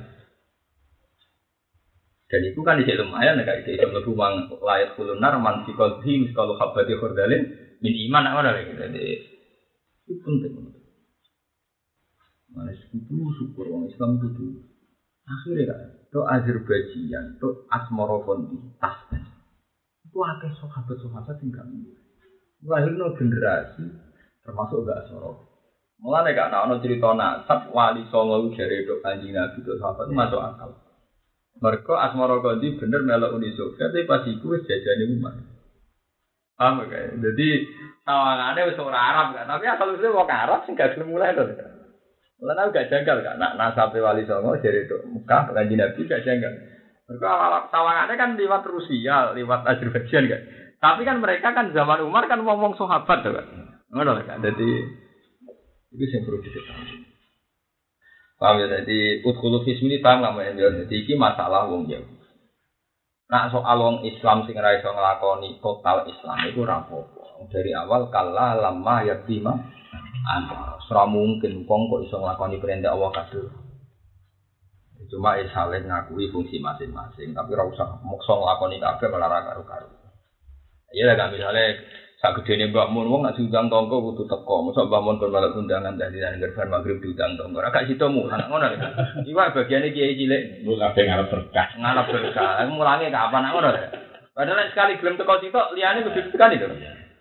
Dan itu kan di lumayan kayak itu lebih layak kulunar mansikol him kalau habati khordalin min iman apa lagi. Jadi itu penting. Mana syukur orang Islam itu dulu. Akhirnya kan, itu Azerbaijan, itu Asmorofondi, Tasman. Itu ada sahabat-sahabat yang gak mungkin. Melahirkan generasi, termasuk gak Asmorofondi. Mulanya gak ada cerita nasab, wali songo dari dok anjing nabi, itu sahabat itu masuk akal. Mereka Asmorofondi bener melok Uni Soviet, tapi pas itu jajan umat. Paham gak? Jadi, tawangannya wis ora Arab kan, tapi asal-usulnya mau ke Arab, sih gak gelem mulai loh. Mulane gak janggal kan, nasabe wali songo dari Mekah kanji Nabi gak janggal. Mereka tawangannya kan lewat Rusia, lewat Azerbaijan kan. Tapi kan mereka kan zaman Umar kan ngomong sahabat tuh kan. Ngono kan. Jadi itu yang perlu diketahui. Paham ya, jadi utkulu fismi ini paham nggak mau jadi ini masalah wong ya. Nah soal wong Islam sing ra iso nglakoni total Islam itu ora apa-apa. Dari awal kala lama yatima anda ora mungkin wong kok iso nglakoni perintah Allah kabeh. Cuma saling ngakui fungsi masing-masing, tapi ora usah maksa nglakoni kabeh malah ra karo-karo. Iya lah kan misalnya sak gedene Mbak Mun wong nek diundang tangga kudu teko. Mosok Mbak Mun kon malah undangan dadi nang gerban magrib diundang tangga. Ora gak sida mulang ngono lho. Iwak bagiane kiai cilik. Lu kabeh ngarep berkah. Ngarep berkah. Mulange kapan ngono lho. Padahal sekali gelem teko sitok liyane kudu tekan itu.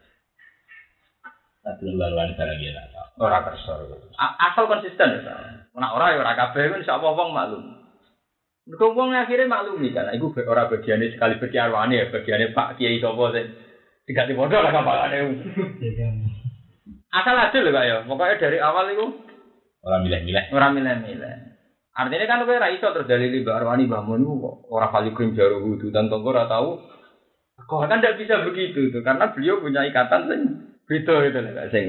Tapi laluan barang ya tak. Ora kersa. Asal konsisten ya. Nek ora ya ora kabeh insyaallah wong maklum. Mergo wong akhire maklumi kan. Iku ora bagiane sekali berkiarwane ya, bagiane Pak Kiai sapa sing diganti modal lah kapalane. Asal adil lho kak ya. Pokoknya dari awal itu orang milih-milih. Orang milih-milih. Artinya kan kowe ra iso terus dalili Mbak Arwani bangun kok ora kali krim jaru wudu dan tonggo ora tahu. Kok kan tidak bisa begitu tuh karena beliau punya ikatan sing beda gitu lho sing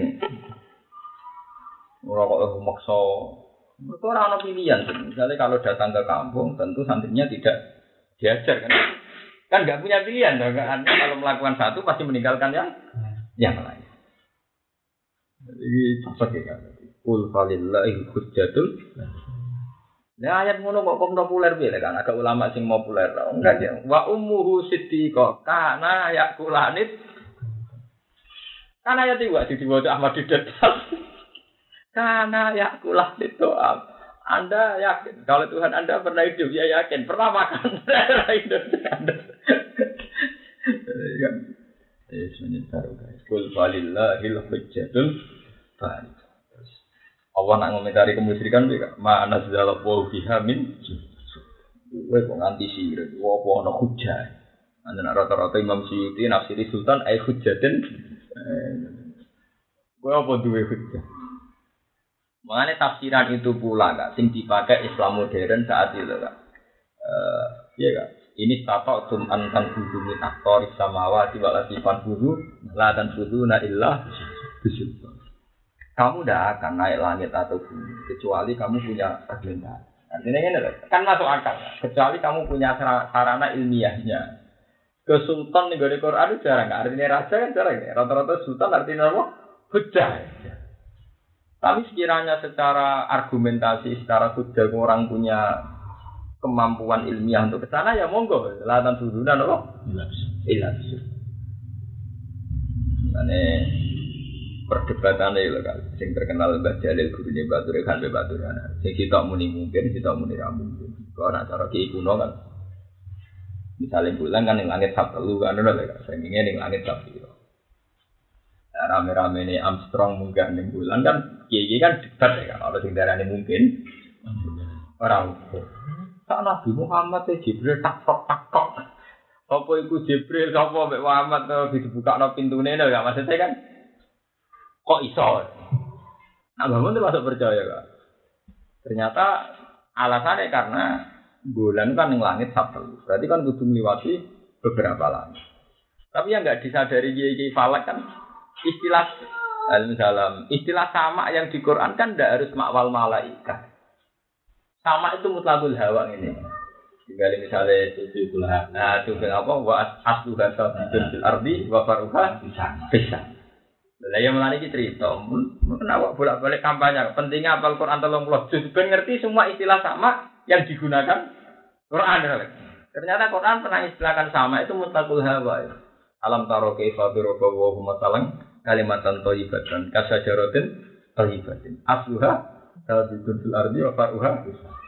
ora kok maksa. Mereka ora ono pilihan. Misalnya kalau datang ke kampung tentu santrinya tidak diajar kan. Kan nggak punya pilihan, kan? Kalau melakukan satu pasti meninggalkan yang lain. Jadi cepat ya kan. Qul falillahi hujjatul. Nah ayat ngono kok populer piye kan? Agak ulama sing populer. Enggak ya. Wa ummuhu siddiqah kana yakulanit. Kan ayat iki wae diwaca Ahmad Didat. Kana yakulanit doa. Anda yakin kalau Tuhan Anda pernah hidup, ya yakin pernah makan hidup Anda. Ya, sebenarnya taruh guys. Qul walillahil hujjatul baligh. Allah nak ngomentari kemusyrikan mereka. Ma nazzala wa biha min. Kowe kok nganti sire, apa ana hujjah. Ana rata-rata Imam Suyuti nafsiri sultan ai hujjatin. Kowe apa duwe hujjah? Mengenai tafsiran itu pula kak, sing dipakai Islam modern saat itu kak. Iya kak. Ini statok antan budu min aktor samawati walati fan budu la tan budu na illah Bisultan. Kamu tidak akan naik langit atau bumi kecuali kamu punya argumentasi. Artinya ini kan masuk akal. Kecuali kamu punya sarana ilmiahnya. Ke sultan nih di Quran itu jarang. Artinya raja kan jarang. Rata-rata sultan artinya apa? Hujjah. Tapi sekiranya secara argumentasi, secara hujjah orang punya kemampuan ilmiah untuk ke sana ya monggo. Latan sudunan apa? Ilas. Ini perdebatan itu kan, yang terkenal Mbah Jalil gurunya Batur kan Batur ana. Sing kita muni mungkin, kita muni ra mungkin. Kalau ana cara ki kuno kan. Misalnya bulan kan ning langit Sabtu kan ngono lho kan. Sing ngene ning langit Sabtu. Rame-rame ini Armstrong munggah ning bulan kan kiye kan debat ya kan. Ono sing darane mungkin. Ora mungkin. Sak Nabi Muhammad Jibril tak-tok. Apa iku Jibril sapa mek Muhammad dibukakno pintune lho gak maksudnya kan. Kok iso? Nah, bangun itu masuk percaya kak. Ternyata alasannya karena bulan kan yang langit Sabtu. Berarti kan kudu melewati beberapa langit. Tapi yang nggak disadari kiai falak kan istilah sama yang di Quran kan tidak harus makwal malaikat. Sama itu mutlakul hawa ini. Tinggal misalnya itu nah itu apa? Wa asluha sabitun fil ardi wa faruha bisa. Lah yang melani iki cerita, kenapa bolak-balik kampanye? Pentingnya hafal Quran 30 juz ben ngerti semua istilah sama yang digunakan Quran. Ternyata Quran pernah istilahkan sama itu mutlaqul hawa. Alam taro kaifa daraba wa hum masalan kalimatan thayyibatan kasajaratin thayyibatin. Asluha sabitun fil ardi wa faruha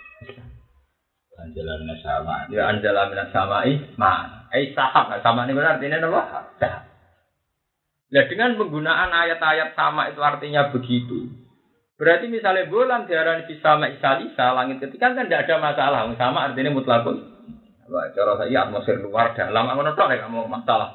Anjala minas sama. Ya anjala minas samai ma. Sahab sama ini benar artinya apa? Sahab. Nah dengan penggunaan ayat-ayat sama itu artinya begitu. Berarti misalnya bulan diarani sama isalisa langit ketika kan tidak ada masalah. Sama artinya mutlakun. Wah, cara saya atmosfer luar dalam ngono tok nek mau masalah.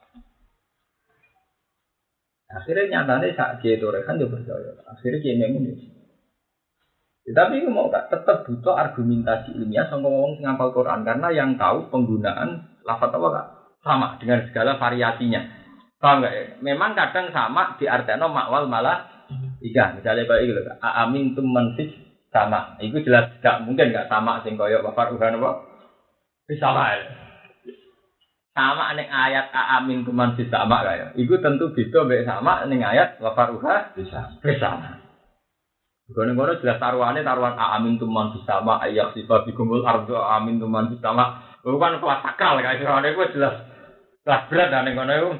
Akhirnya nyatane sak gitu kan yo percaya. Akhirnya kene ngene. Tapi mau tetap butuh argumentasi ilmiah sangka wong sing hafal Quran karena yang tahu penggunaan lafaz apa Kak? Sama dengan segala variasinya. Paham enggak ya? Memang kadang sama diartikan makwal malah iya, misalnya kayak gitu loh. Amin tum manfis sama. Itu jelas enggak mungkin enggak sama sing koyo wafar uhan apa? Sama. Sama ning ayat amin tum manfis sama kayak. Iku tentu beda mek sama ning ayat wafar uha bisa. Gono-gono jelas taruhan amin tum manfis sama ayak sifat bigumul ardo amin tum manfis sama. Bukan kelas sakral kayak itu jelas. Kelas berat ning ngono iku.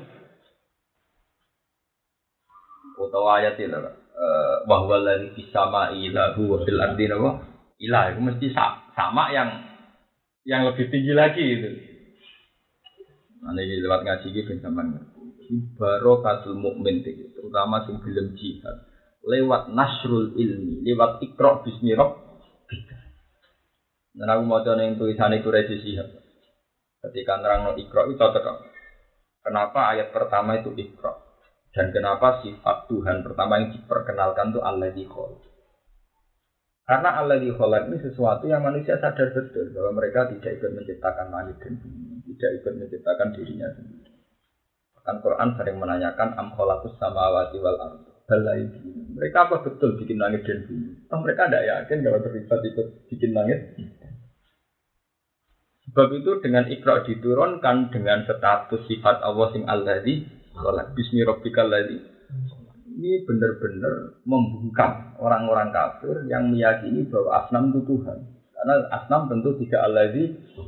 Utawa ayat itu bahwa lagi kisama ilahu wa fil ardi nawa ilah itu mesti sama yang lebih tinggi lagi itu. Ini lewat ngaji gitu sampean ngerti. Barakatul mukmin itu terutama sing gelem jihad lewat nasrul ilmi, lewat iqra bismi rabbika. Nah aku maca ning tulisane Quraisy Shihab. Ketika nerangno iqra itu cocok. Kenapa ayat pertama itu iqra? Dan kenapa sifat Tuhan pertama yang diperkenalkan itu Alladzi Khalaq? Karena Alladzi Khalaq ini sesuatu yang manusia sadar betul bahwa mereka tidak ikut menciptakan langit dan bumi, tidak ikut menciptakan dirinya sendiri. Bahkan Quran sering menanyakan am khalaqus samawati wal ardh. Mereka apa betul bikin langit dan bumi? Mereka tidak yakin kalau terlibat ikut bikin langit. Sebab itu dengan Iqra diturunkan dengan status sifat Allah sing Alladzi Khalaq bismi rabbikal ladzi. Ini benar-benar membungkam orang-orang kafir yang meyakini bahwa asnam itu Tuhan. Karena asnam tentu tidak alladzi.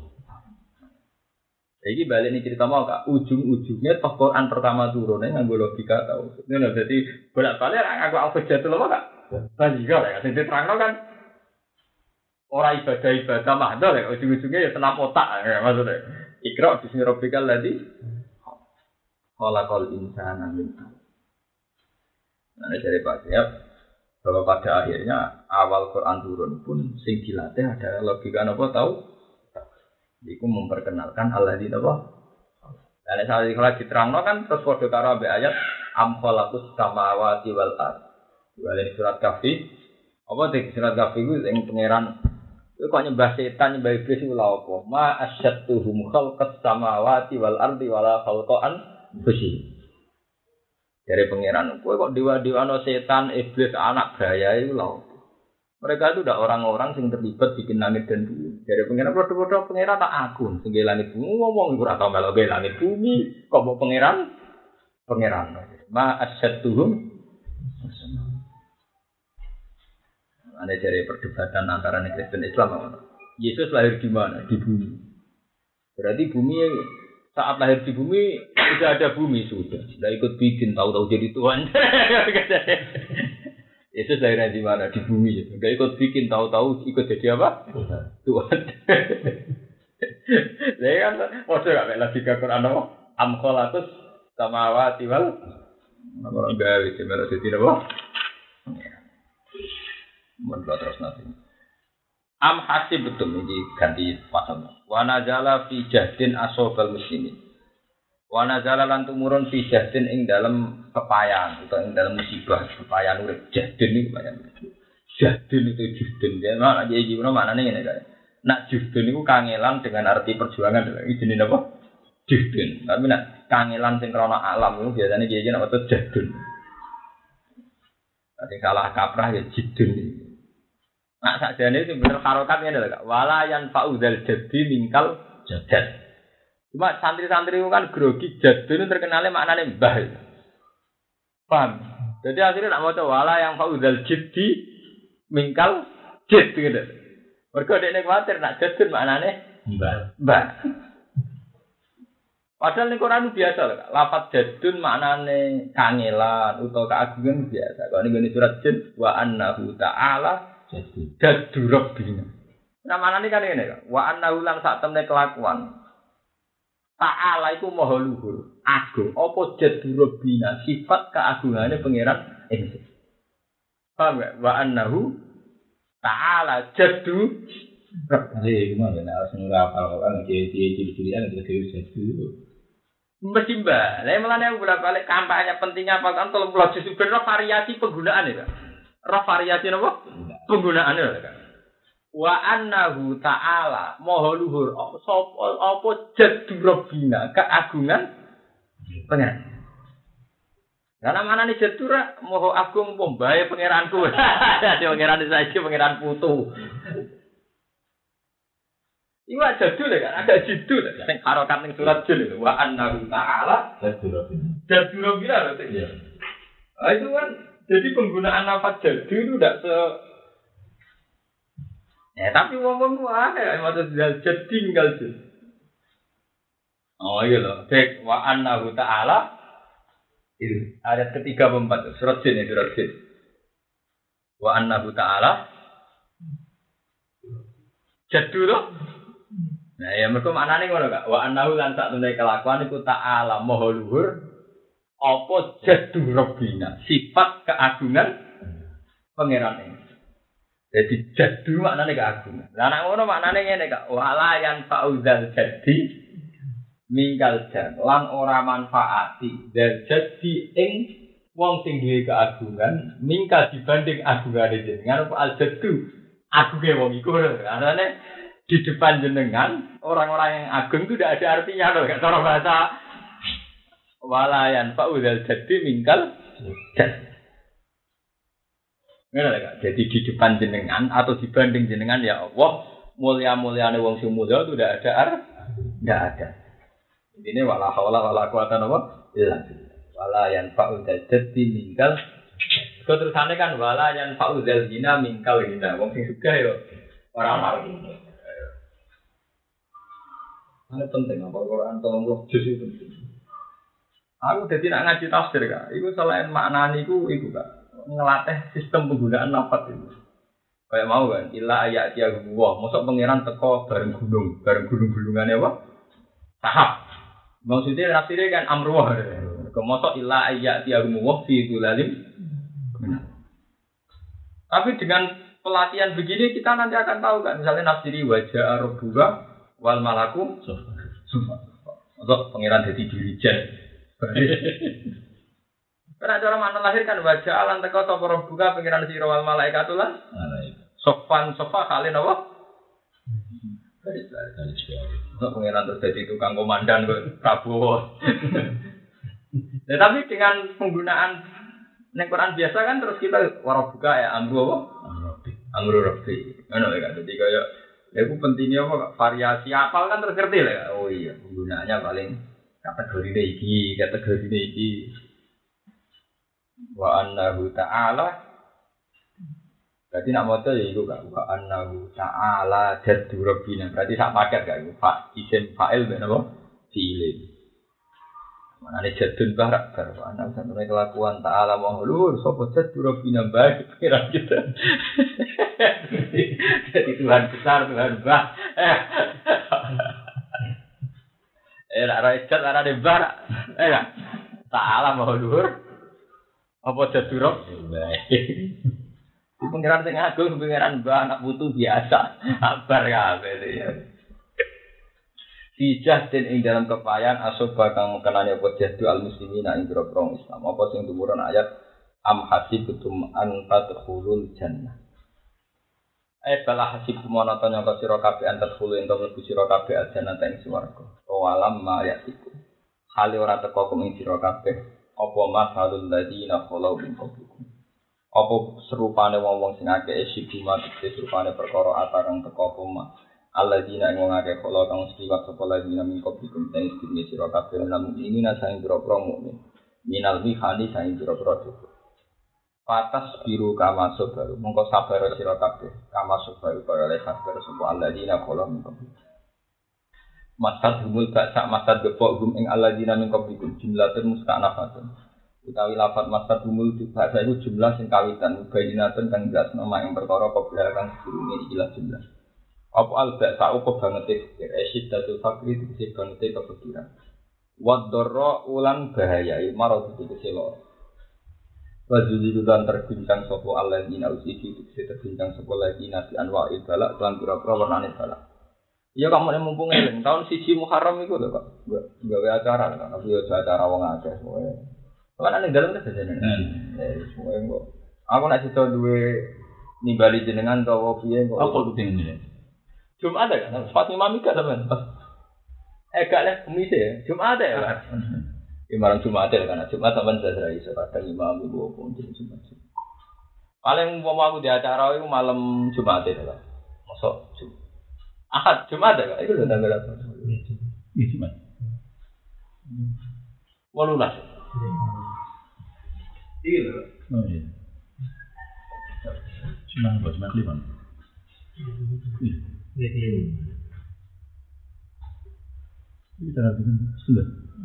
Jadi balik ini cerita mau Kak, ujung-ujungnya toh Quran pertama turunnya nganggo logika tahu. Ini lho jadi bolak-balik aku alfajatul apa Kak? Logika lah, sing diterangno kan ora ibadah mahdoh ya, ujung-ujungnya ya senam otak ya maksudnya. Iqra bismi rabbikal ladzi khalaqal insana min 'alaq. Nah, dari Pak Siap bahwa pada akhirnya awal Quran turun pun sing dilatih ada logika apa tahu? Iku memperkenalkan Alladzi apa? Dan saat kalau diterangno kan terus padha karo ambek ayat am khalaqus samawati wal ardh. Wali surat Kahfi. Apa sih surat Kahfi ku sing pangeran itu kok nyembah setan nyembah iblis iku lha apa? Ma asyattuhum khalqas samawati wal ardi wala khalqan Fusi. Dari pangeran, kowe kok dewa-dewa no setan, iblis, anak bahaya itu lho. Mereka itu udah orang-orang yang terlibat bikin langit dan bumi. Dari pangeran bodoh-bodoh pangeran tak akun, sing langit bumi ngomong ora tau melok langit bumi, kok mau pangeran? Pangeran. Ma asyadduhum. Ada dari perdebatan antara Kristen dan Islam. Yesus lahir di mana? Di bumi. Berarti bumi saat lahir di bumi sudah ada bumi sudah ikut bikin tahu-tahu jadi Tuhan. Yesus lahir di mana? Di bumi. Sudah ikut bikin tahu-tahu ikut jadi apa? Tuhan. Saya kan waduh gak lagi ke Quran apa? Am khalaqus samawati wal orang gawe semerah jadi apa? Menurut terus nanti. Am hasib betul ini ganti pasal. Wa nazala fi jahdin asobal muslimin. Wa nazala lan tumurun fi jahdin ing dalam kepayan atau ing dalam musibah kepayan urip. Jahdin iki kepayan. Jahdin itu juhdin. Ya nek iki gimana maknane ngene kae. Nak juhdin iku kangelan dengan arti perjuangan. Iki jenenge apa? Juhdin. Tapi nak kangelan sing krana alam itu biasane iki nek apa jahdin. Ati salah kaprah ya jidun. Nah sakjane itu bener harokat ngene lho Kak. Wala yan fauzal jadi mingkal jadad. Cuma santri-santri itu kan grogi jadun itu terkenalnya maknane mbah. Paham? Jadi akhirnya nak maca wala yang fauzal jadi mingkal jid gitu. Mergo dekne kuwatir nak jadun maknane mbah. Padahal ning Quran biasa lho Kak. Lafaz jadun maknane kangelan utawa keagungan biasa. Kalau ning surat Jin wa annahu ta'ala jaddu rabbina. Nah maknane kan ngene Kak. Wa annahu lan sak temne kelakuan. Ta'ala iku maha luhur. Agung apa jaddu rabbina sifat keagungane pangeran ingsun. Paham gak? Wa annahu ta'ala jaddu Jadi gimana? Harus ngapal kan ciri-cirian itu jaddu. Mesti mbak, saya melane aku bolak-balik kampanye pentingnya apa kan tolong belajar sebenarnya variasi penggunaan ya, roh variasi apa? Penggunaan ya kan. Wa annahu ta'ala maha luhur apa jaddu rabbina keagungan pangeran. Karena mana nih jaddu ra maha agung pembae pangeranku. Dadi pangeran saiki pangeran putu. Iku jadul kan, ada jidul sing harokat ning surat Jin itu wa annahu ta'ala jadul rabbina lho ya. Ah itu kan jadi penggunaan lafaz jadul itu tidak se tapi wong-wong ku akeh maksud jadi tinggal jin. Oh iya lho, cek wa annahu ta'ala itu ayat ketiga keempat surat Jin surat Jin. Wa annahu ta'ala jadul loh. Nah ya mergo maknane ngono Kak. Wa annahu lan sak temne kelakuan iku ta'ala maha luhur apa jaddu rabbina sifat keagungan pangeran ini. Jadi jaddu maknane keagungan. Lah nek ngono maknane ngene Kak. Wala yan fauzal jadi minggal jan lan ora manfaati dal jadi ing wong sing duwe keagungan mingkal dibanding agungane jenengan apa al jaddu agunge wong iku arane di depan jenengan orang-orang yang agung itu tidak ada artinya loh kan cara bahasa walayan fauzal jadi mingkal jadi di depan jenengan atau dibanding jenengan ya Allah mulia-muliane wong sing mulya itu tidak ada ini wala haula wala quwata illa billah walayan fauzal jadi mingkal terusane kan walayan fauzal zina mingkal zina wong sing sugih yo ora marang. Ini penting, apa Quran tolong juz itu penting. Aku jadi nak ngaji tafsir Kak. Iku selain maknani iku Kak. Ngelatih sistem penggunaan lafaz itu. Kayak mau kan, illa ayat ya gua, mosok pangeran teko bareng gunung-gunungannya apa? Sahab. Maksudnya tafsirnya kan amruwah. Mosok illa ayat ya gua fi dzulalim. Tapi dengan pelatihan begini kita nanti akan tahu kan, misalnya nafsiri wajah rabbuka wal malaku untuk pangeran jadi dirijen. Karena ada orang mana lahir kan wajah alam teko sapa buka pangeran sira wal malaikatu lan sofan sofa kalian apa? Untuk pangeran terus jadi tukang komandan kok Prabowo. Nah, tapi dengan penggunaan ning Quran biasa kan terus kita warabuka ya amru apa? Amru rabbi. Ngono ya kan. Jadi kaya itu pentingnya apa variasi apal kan terus ngerti lah. Oh iya, penggunaannya paling kategori iki. Wa annahu ta'ala. Berarti nak maca ya iku gak wa annahu ta'ala jaddu rabbina. Berarti sak paket gak iku. Isim fa'il ben apa? Fi'il. Manane jadun barak karo ana sampe kelakuan ta'ala mahluhur sapa jaddu rabbina baik kira kita. Jadi Tuhan besar, Tuhan bah. Lah rakyat ana de barak. Ta'ala mahluhur apa jaddu rabbina. Di pengiran sing agung, pengiran mbah anak putu biasa. Abar kabeh ya. Dijah den ing dalam kepayan asoba kang mengenani apa jahdu al muslimina ing grogong Islam. Apa sing tumurun ayat am hasibtum an tadkhulul jannah. Bala hasib mono to nyangka sira kabeh antar khulu ento mlebu sira kabeh aljannah ing swarga. Walam ma yatiku. Hale ora teko ing sira kabeh apa masalul ladina khalau min qablikum. Apa serupane wong-wong sing akeh siduma serupane perkara atarang teko apa alladzina ing wong akeh kala kang seliwat sapa ladina min qablikum sing sedine sira kabeh lan ini nasane pira-pira mukmin minal mihani saing pira-pira cukup patas biru kama sabar mongko sabar sira kabeh kama sabar kaya sabar sapa alladzina kala min qablikum masad humul baksa masad gepok hum ing alladzina min qablikum jumlatun mustanafatun utawi lafaz masad humul bahasa iku jumlah sing kawitan bayinatun kang jelas nama ing perkara kobra kang sedurunge ikilah jumlah apa al-ba'sa apa bangete esidatu fakri dise bangete kepikiran wadorra ulan bahaya marad dise loro wajudi dan terbincang sapa alladzina usiki dise terbincang sapa alladzina fi anwa'il balak lan pira-pira warnane balak iya kamu mumpung eling tahun 1 Muharram iku lho kok gawe acara kan tapi yo acara wong akeh kowe kan ning dalem ta jane semua kok aku nek iso duwe nimbali jenengan utawa piye kok apa kudu Jumat ada kan? Pas Imam Mika sampean. Gak lah Kamis ya. Jumat ada ya kan? Malam Jumat ada kan? Jumat sampean saya iso kadang Imam Ibu pun Jumat. Paling umpama aku di acara itu malam Jumat ada kan? Mosok Jumat. Ahad Jumat ada kan? Itu lho tanggal apa? Jumat. 18. Iya lho. Oh iya. Jumat 5. Ini terapi kan sudah.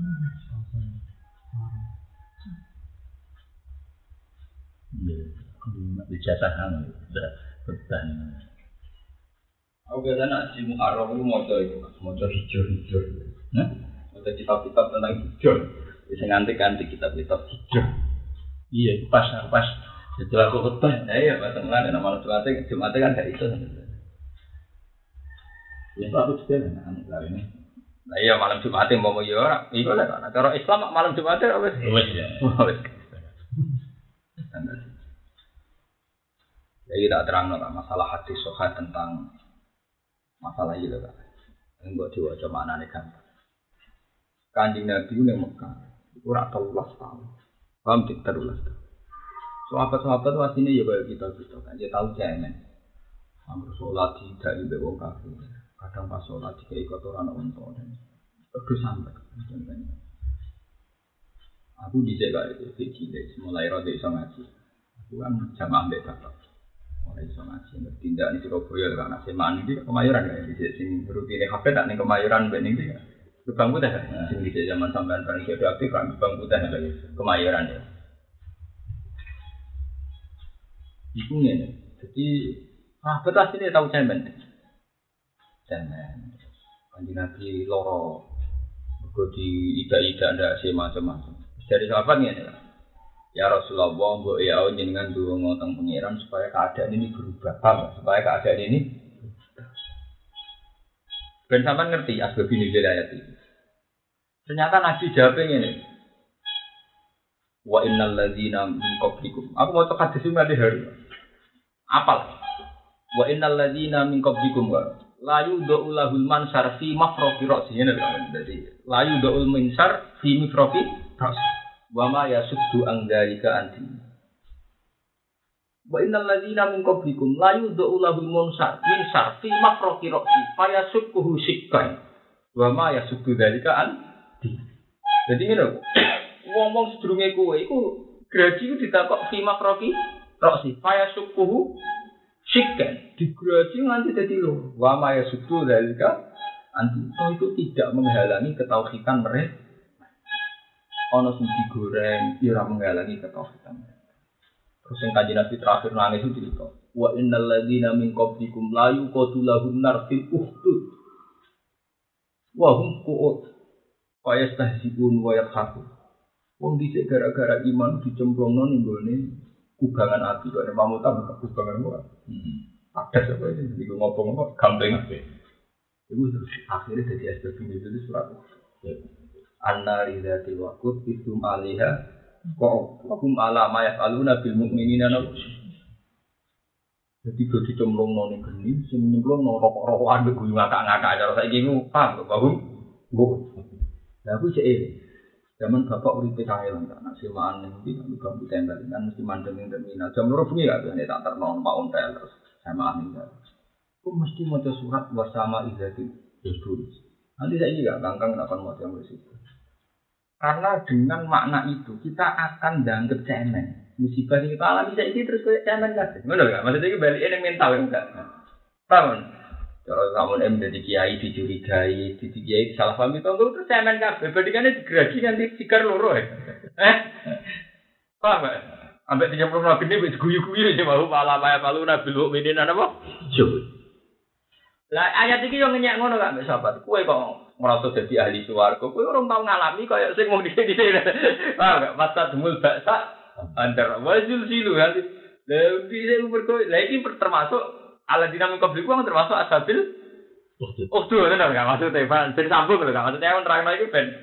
Iya, kalau dicatatkan sudah bertahan. Aku biasanya di Muharram itu mau hijau. Nah, ada kitab-kitab tentang hijau. Bisa nganti kitab-kitab hijau. Iya, itu pas. Setelah aku ketemu, ya pas mulai nama Jumat kan dari itu. Ya aku juga anak kali ini. Nah iya malam Jumat mau yo ora. Iku lek ana cara Islam malam Jumat wis. Wis ya. Wis. Jadi tak terangno masalah hadis sahih tentang masalah iki lho Kak. Engko diwaca maknane kan. Kanjeng Nabi ning Mekah iku ora 13 tahun. Paham dik 13 tahun. Sahabat-sahabat wasine ya kaya kita kan dia tahu cemen. Amru salat tidak ibe wong kafir. Kadang pas sholat jika ikut orang onto dan terus sampai. Aku dijaga itu kecil, mulai rada iso ngaji. Aku kan jamaah mbek bapak. Mulai iso ngaji, bertindak di Surabaya karena semaan ini Kemayoran kan di sini rutine HP tak ning Kemayoran ben iki. Gebang Putih kan. Sing di zaman sampean kan iki aktif kan Gebang Putih lagi Kemayoran ya. Iku ngene. Jadi betul asline tahu cemen. Kanjeng Nabi loro mergo di ida-ida ndak sih macam-macam. Dari sahabat ngene lho. Ya Rasulullah, mbok ya jenengan ndonga teng pangeran supaya keadaan ini berubah. Supaya keadaan ini ben sampean ngerti asbab ini ayat ini. Ternyata Nabi jawab ngene. Wa innal ladzina min qablikum. Aku mau cek hadis iki hari. Apal. Wa innal ladzina min qablikum wa layu do'ulahul mansar fi mafrofi rosi. Ini jadi layu do'ul mansar fi mafrofi rosi. wa ma yasuddu an dzalika anti. Wa innal ladzina min qablikum la yud'u lahum munsar min sarfi mafraqi ra'si fayasukkuhu sikkan. Wa ma yasuddu dzalika anti. Jadi ngene ngomong sedurunge kowe iku graji iku ditakok fi mafraqi ra'si fayasukkuhu sikkan. Digraji nganti dadi loro. Wa ma yasuddu dzalika anti. Itu tidak menghalangi ketauhidan mereka. Ono sing digoreng, ora menghalangi ketauhidan. Terus yang Kanjeng Nabi terakhir nangis itu cerita, wa innal ladzina min qablikum la yuqatulahun nar fil uhdud. Wa hum qu'ud. Fa yastahzi'un wa yadhakun. Wong dhisik gara-gara iman dicemplungno ning gone kubangan api kok nek pamutan kubangan wae. Ada apa iki iku ngomong gampang ape. Iku terus akhirnya jadi asbab itu surat. An-nari dzati waqut isum alaiha qum ala ma yafaluna bil mu'minina. Jadi do dicemplungno ning geni sing nyemplungno rokok-rokokan mbek guyu ngakak-ngakak cara saiki ku paham kok Bang. Lah aku cek zaman bapak uripe kangelan tak nak sewaan ning ndi kok bambu tembel kan mesti mandeng ning terminal. Jam 2 bengi gak bisa tak terno Pak Ontel terus sama ning. Ku mesti maca surat wasama izati dulu. Nanti saiki gak kangkang nak kon maca mesti. Karena dengan makna itu kita akan dianggap cemen. Musibah yang kita alami saiki terus kayak cemen kabeh. Ngono gak? Maksudnya iki balike ning mental enggak. Paham? Kalau kamu jadi kiai dicurigai, kiai salah paham itu terus cemen kabeh. Bandingannya digeragi nanti sikar loro ya. Paham gak? Ambek dijemput nabi ini guyu-guyu aja mau malah maya palu nabi lu minin apa? Jujur. Lah ayat iki yo ngenyek ngono gak mbek sahabat. Kowe kok merasa dadi ahli swarga, kowe ora tau ngalami kaya sing wong dhisik-dhisik. Paham gak? Masa demul baksa antar wajul silu nanti. Lah bisa umur kowe. Lah iki termasuk aladina mengkobli ku termasuk asabil. Oh tuh bener gak maksudnya ben sambung lho gak maksudnya wong terangno iku ben.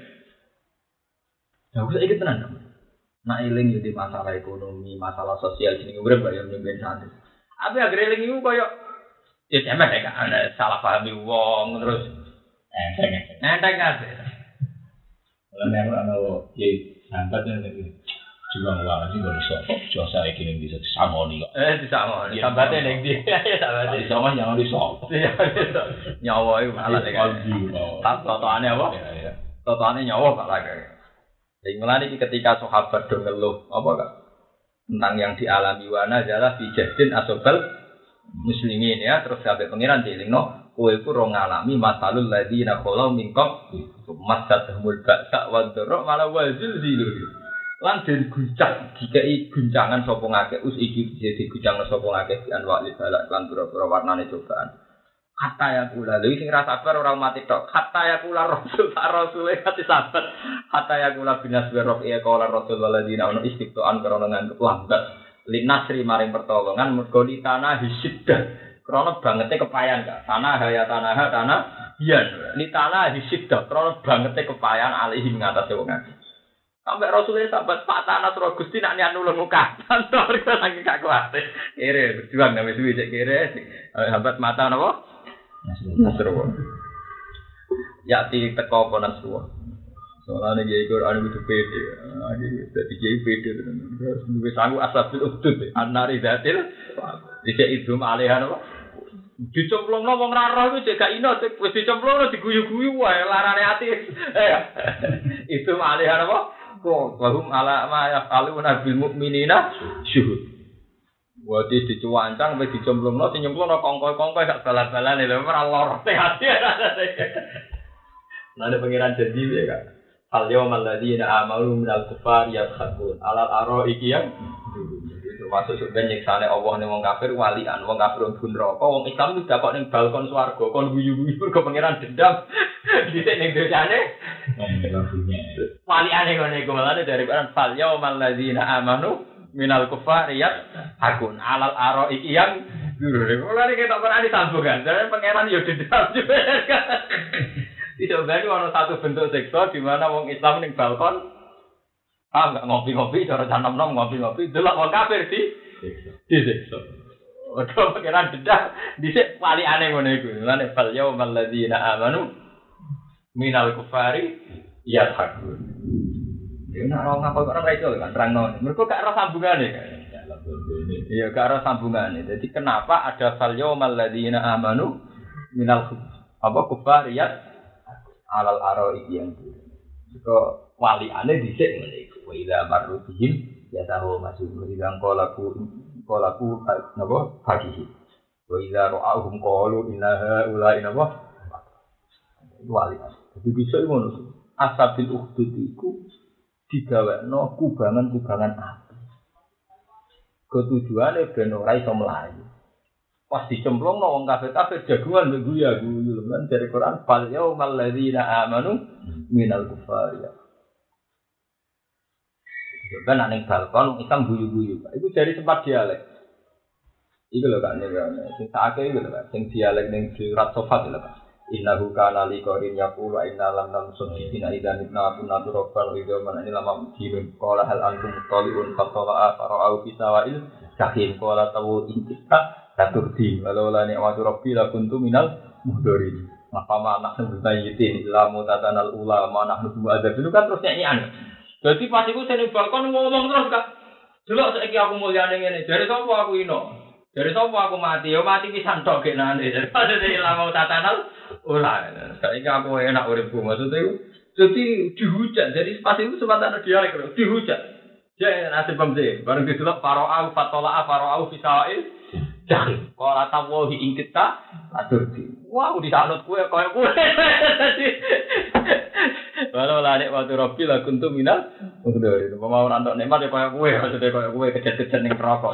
Ya wis iki tenan. Nak eling yo di masalah ekonomi, masalah sosial jenenge urip kaya nyemben santai. Tapi agar eling iku kaya ya cemen ya kan salah pahami wong terus enteng kabeh. Lah nek ana iki sambat nek juga wae sing ora iso josa iki ning bisa disamoni kok. Disamoni. Sambate ning ndi? Ya sambate. Sama yang iso. Nyawa iku malah nek. Totone apa? Totone nyawa Pak lagi. Sing mulane iki ketika sahabat do ngeluh apa Kak? Tentang yang dialami wana adalah bijahdin asobal muslimin ya terus sampai pengiran dilingno kowe iku ora ngalami masalul ladina khalau minkum masadhumul ba'sa wa dharra malah wazil zilur lan den guncang dikai guncangan sapa ngakeh us iki dadi guncang sapa ngakeh di anwa'il balak lan pira-pira warnane cobaan kata ya kula lha sing ra sabar ora mati tok kata ya kula rasul rasule ati sabar kata ya kula binas roh ya kala rasul waladina ono istiqtoan karena nganggep lambat linasri maring pertolongan mergo di tanah hisiddah krana bangete kepayan Kak tanah haya tanah hian li tanah hisiddah krana bangete kepayan alihi ngatasé wong akeh sampai rasulullah sahabat Pak tanah surah Gusti nak niat nulung muka kantor saking gak kuat kere berjuang nang wis cek kere sahabat mata napa Nasrullah ya ti teko apa Nasrullah soalnya dia ikut anu itu pede, jadi dia pede terus lebih sanggup asabil udut, anari datil, dia itu malihan apa? Dicemplung wong raro itu jaga ino, wis dicemplung diguyu-guyu wae larane ati. Itu malihan apa? Kok bahum ala ma yafaluna bil mukminina syuhud. Wadi dicuwancang wis dicemplungno sing nyemplungno kongko-kongko gak bal-balane lho ora lor hati. Nang pengiran janji ya Kak. Al-yawmal ladzina amanu minal kufar yadkhulun alal araiki yang jadi termasuk sebenarnya nyiksane Allah ning wong kafir walian wong kafir pun neraka wong Islam wis dakok ning balkon swarga kon guyu-guyu mergo pangeran dendam dhisik ning dosane waliane ngene iku malane dari al-yawmal ladzina amanu minal kufar yadkhulun alal araiki yang mulane ketok ora disambungan jare pangeran yo dendam tidak berarti ada satu bentuk seksual di mana wong Islam ning balkon enggak ngopi-ngopi cara canom-nom ngopi-ngopi delok wong kafir di seksual. Ojo pikiran dedah dhisik walikane ngono iku. Lan fal yaumal ladzina amanu minal kufari yadhakun. Ya nak ora ngapa kok ora iso kan terangno. Mergo gak ora sambungane kan. Iya gak ada sambungannya. Jadi kenapa ada fal yaumal ladzina amanu minal kufariyat alal aroi yang itu. Jika waliane dhisik ngene iku. Wa idza marru bihim yatahu masjid idza qalaku napa fakihi. Wa idza ra'ahum qalu inna haula'i napa walian. Jadi bisa ngono. Asabil ukhdud iku digawekno kubangan-kubangan api. Ketujuane ben ora iso mlayu. Pas dicemplungno wong kafir-kafir jagungan mbek guyu-guyu lan dari Quran fal yaumal ladzina amanu minal kufari. Ben ning balkon Islam guyu-guyu. Iku dari sempat dialek. Iku lho kan sing sakake iku lho sing dialek ning surat Sofat lho Pak. Innahu kana liqarin yaqulu inna lam namsuddina idzan nabuna turabban idza man ini lama mujibun qala hal antum taliun fatala fara'u fi sawa'il jahim qala tawu intika taturdi walau la ni'matu rabbi la kuntu minal muhdarin maqama nahnu bayyitin illa mutatanal ulama nahnu bu'adzab itu kan terus nyanyian. Dadi pas iku sing balkon ngomong terus Kak. Delok saiki aku mulyane ngene dari sapa aku ino dari sapa aku mati yo mati pisan tok genane daripada ilmu tatanal ulah. Saiki aku enak uripku maksudnya itu. Jadi dihujat. Jadi pas itu sempat dialek lho, dihujat. Ya nasib pemse. Bareng didelok fara'u fatala fara'u fi sawa'il. Jangan. Qala tawahi ing kita aturdi. Wow, disanut kowe koyo kowe. Walau la nikmatu rabbi la kuntu minal muhdarin. Mau ora entuk nikmat ya koyo kowe, maksudnya koyo kowe kejet-kejet ning neraka.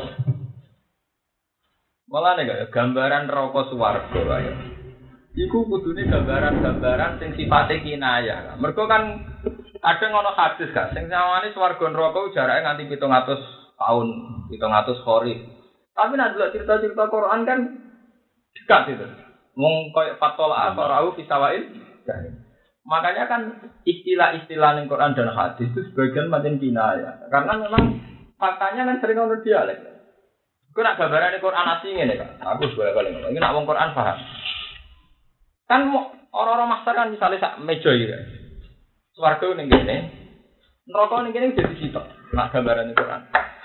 Malah nek gambaran neraka swarga kaya. Iku kudune gambaran-gambaran sing sifate kinayah. Mergo kan kadang ana hadis gak sing sawane swarga neraka jarake nganti 700 tahun, 700 kharif. Tapi nek delok cerita-cerita Quran kan dekat itu. Wong koyo fatola fara'u fi sawa'il. Makanya kan istilah-istilah ning Quran dan hadis itu sebagian macam kinayah. Karena memang faktanya kan sering ono dialek. Ku nak gambarane Quran asli ngene Kak. Aku bolak-balik ngomong. Iki nak wong Quran paham. Kan orang-orang master kan misalnya sak meja iki. Swarga ning kene. Neraka ning kene dadi sitok. Nak gambaran Quran.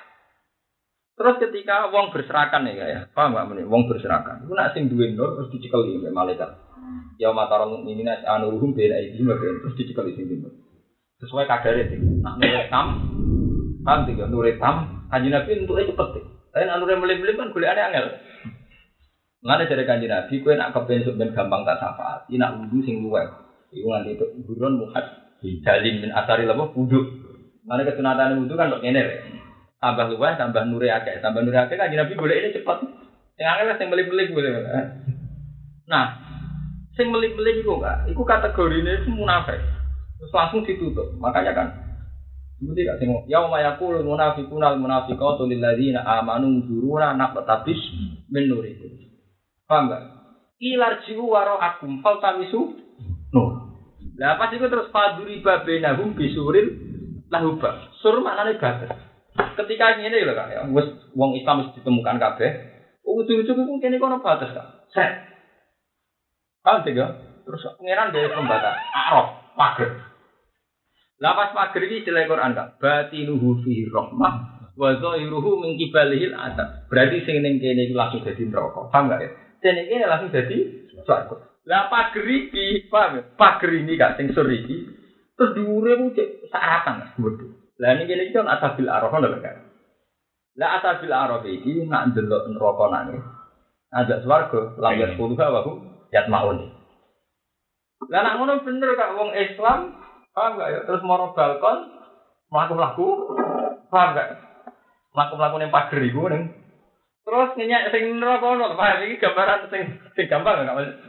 Terus ketika wong berserakan ya, paham enggak meneh? Wong berserakan. Iku nak sing duwe nur terus dicekeli mbek malaikat. Ya mataron mukminina anuruhum bela iki terus dicekeli sing nur. Sesuai kadare sing. Nak nur tam, paham tiga nur tam, kanjeng Nabi entuke cepet. Tapi nak nur melip-melip kan golekane angel. Ngene jare Kanjeng Nabi kowe nak kepen ben gampang tak syafaat, iki nak wudu sing luwih. Iku nganti burun muhad jalin min asari labo wudu. Mane kesunatane wudu kan kok ngene rek. Tambah luwih tambah nure akeh, tambah nure akeh Kanjeng Nabi golekne cepet. Sing angel sing melip-melip boleh. Nah, sing melip-melip iku Kak, iku kategorine munafik. Terus langsung ditutup. Makanya kan seperti gak sing yauma yaqulul munafiquna wal munafiqatu lil ladzina amanu dzuruna naqtabis min nurikum. Paham enggak? Ilarjiu wara'akum faltamisu nur. Lah pas iku terus faduri babenahum bisuril lahuba. Sur maknane batas. Ketika ngene lho Kak, ya wis wong Islam wis ditemukan kabeh. Ujug-ujug iku kene kono batas Kak. Set. Paham tiga? Terus pangeran dari pembatas Araf, pager. Lah pas pager iki istilah Quran Kak. Batinuhu fi rahmah wa zahiruhu min qibalihil adab. Berarti sing ning kene iku langsung dadi neraka. Paham enggak ya? Dene iki langsung dadi swarga. Lah pager iki, paham ya? Pager ini Kak sing sur iki terus dhuwure ku cek saratan Mas. Lah niki iki kan asabil araf lho Kak. Lah asabil araf iki nak ndelok neraka nane. Ada swarga, langit puluha wa yatmaun. Lah nak ngono bener Kak wong Islam, paham enggak ya? Terus moro balkon mlaku-mlaku, paham enggak? Mlaku-mlaku ning pager iku ning terus nyenyak sing neraka ono, paham iki gambaran sing gampang enggak Mas?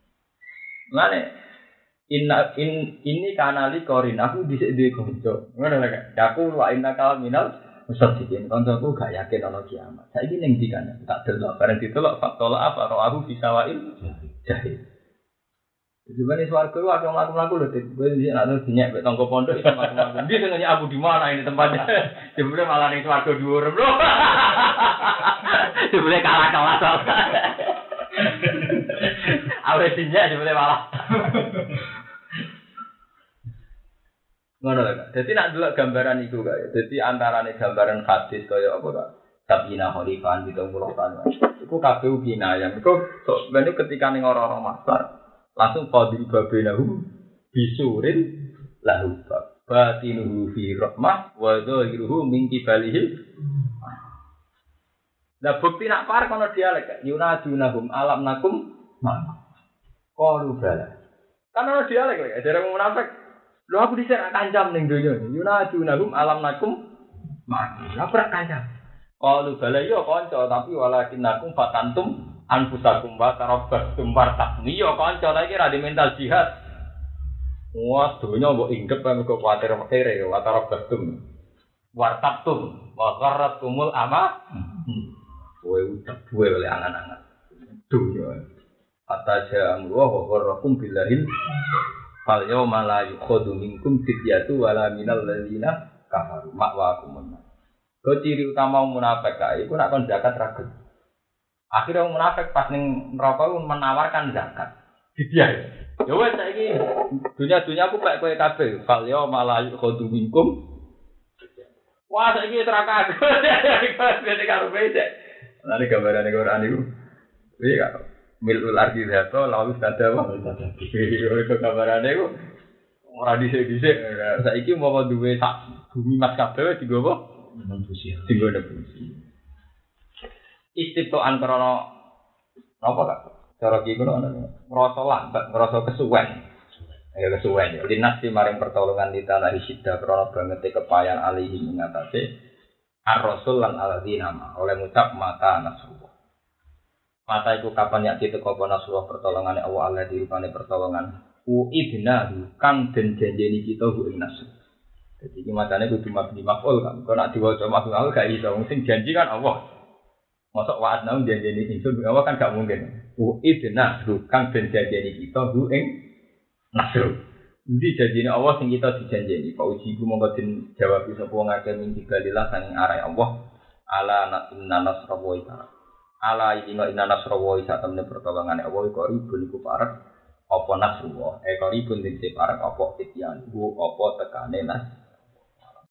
Lane ini kanali korin aku dhisik duwe kanca. Ngono lho Kak. Aku wa inna kal minal musaddiqin. Kancaku gak yakin ana kiamat. Saiki ning ndi kan? Tak delok bareng ditelok fatola apa ro'ahu fi sawa'il jahil. Jebane swarga ku akeh mlaku-mlaku lho, Dik. Kowe iki nek terus dinyek mek tangga pondok iso mlaku-mlaku. Ndi sing nanya Abu di mana ini tempatnya? Jebule malah ning swarga dhuwur lho. Jebule kalah kelas. Awet dinyek jebule malah. Ngono lho Kak. Dadi nek delok gambaran iku Kak. Dadi antarane gambaran hadis kaya apa Kak? Sabina Khalifan 70 tahun. Iku kabeh kinayah. Iku ben ketika ning ora-ora masar langsung fadil babenahu bisurin lahu batinuhu fi rahmah wa dhahiruhu min kibalihil. Nah bukti nak par kono dialek yunadunahum alam nakum qalu bala. Kan ono dialek lek jare munafik. Lho aku dhisik nak kancam ning donya. Yunadunahum alam nakum lah ora kancam. Qalu bala yo kanca tapi walakinakum fatantum anfusakum wa tarabbastum wartabni yo kanca ta iki ra di mental jihad. Wah, donya mbok inggep kan kok kuwatir kere wa tarabbastum wartabtum wa gharratkumul ama. Kowe utek duwe oleh angan-angan. Donya. Ataja amru wa gharrakum billahil fal yauma la yukhadu minkum fidyatu wala minal ladzina kafaru ma'wakum. Kau ciri utama munafik kae iku nek kon zakat ra gelem. Akhire wong munafik pas ning neraka menawarkan zakat. Didiah. Ya wes saiki dunya-dunya aku pek kowe kabeh. Fal ya malayu khodu minkum. Wah saiki neraka. Bene karo beda. Lan gambarane Quran iku. Iya kok. Milul ardi zato lalu sada wa sada. Iku gambarane iku ora dhisik-dhisik. Saiki mau duwe sak bumi mas kabeh digowo manusia. Tinggal ada fungsi. Istitoan krono apa Kak? Cara iki ngono ana. Ngrasa lambat, ngrasa kesuwen. Ya kesuwen ya. Dinas di maring pertolongan di tanah Isida krono banget kepayan alihi mengatasi ar-rasul lan alladzina oleh ngucap mata nasrullah. Mata iku kapan yak diteko apa nasrullah pertolongane Allah Allah dirupane pertolongan. Uidna kang den janjeni kita ku ing nasr. Jadi iki macane kudu mabni maf'ul kan. Kok nek diwaca maf'ul gak iso. Sing janji kan Allah. Mosok wa'ad nang janjeni ingsun Allah kan gak mungkin. Idna kang den janjeni kita hu ing nasr. Endi janjine Allah sing kita dijanjeni? Pak uji ku monggo den jawab sapa wong akeh min digalillah saking arah Allah. Ala inna nasra wa ita. Ala inna nasra wa ita temne pertolongane Allah iku ribun iku parek apa nasrullah. Ribun dite parek apa ityan. Apa tekane nas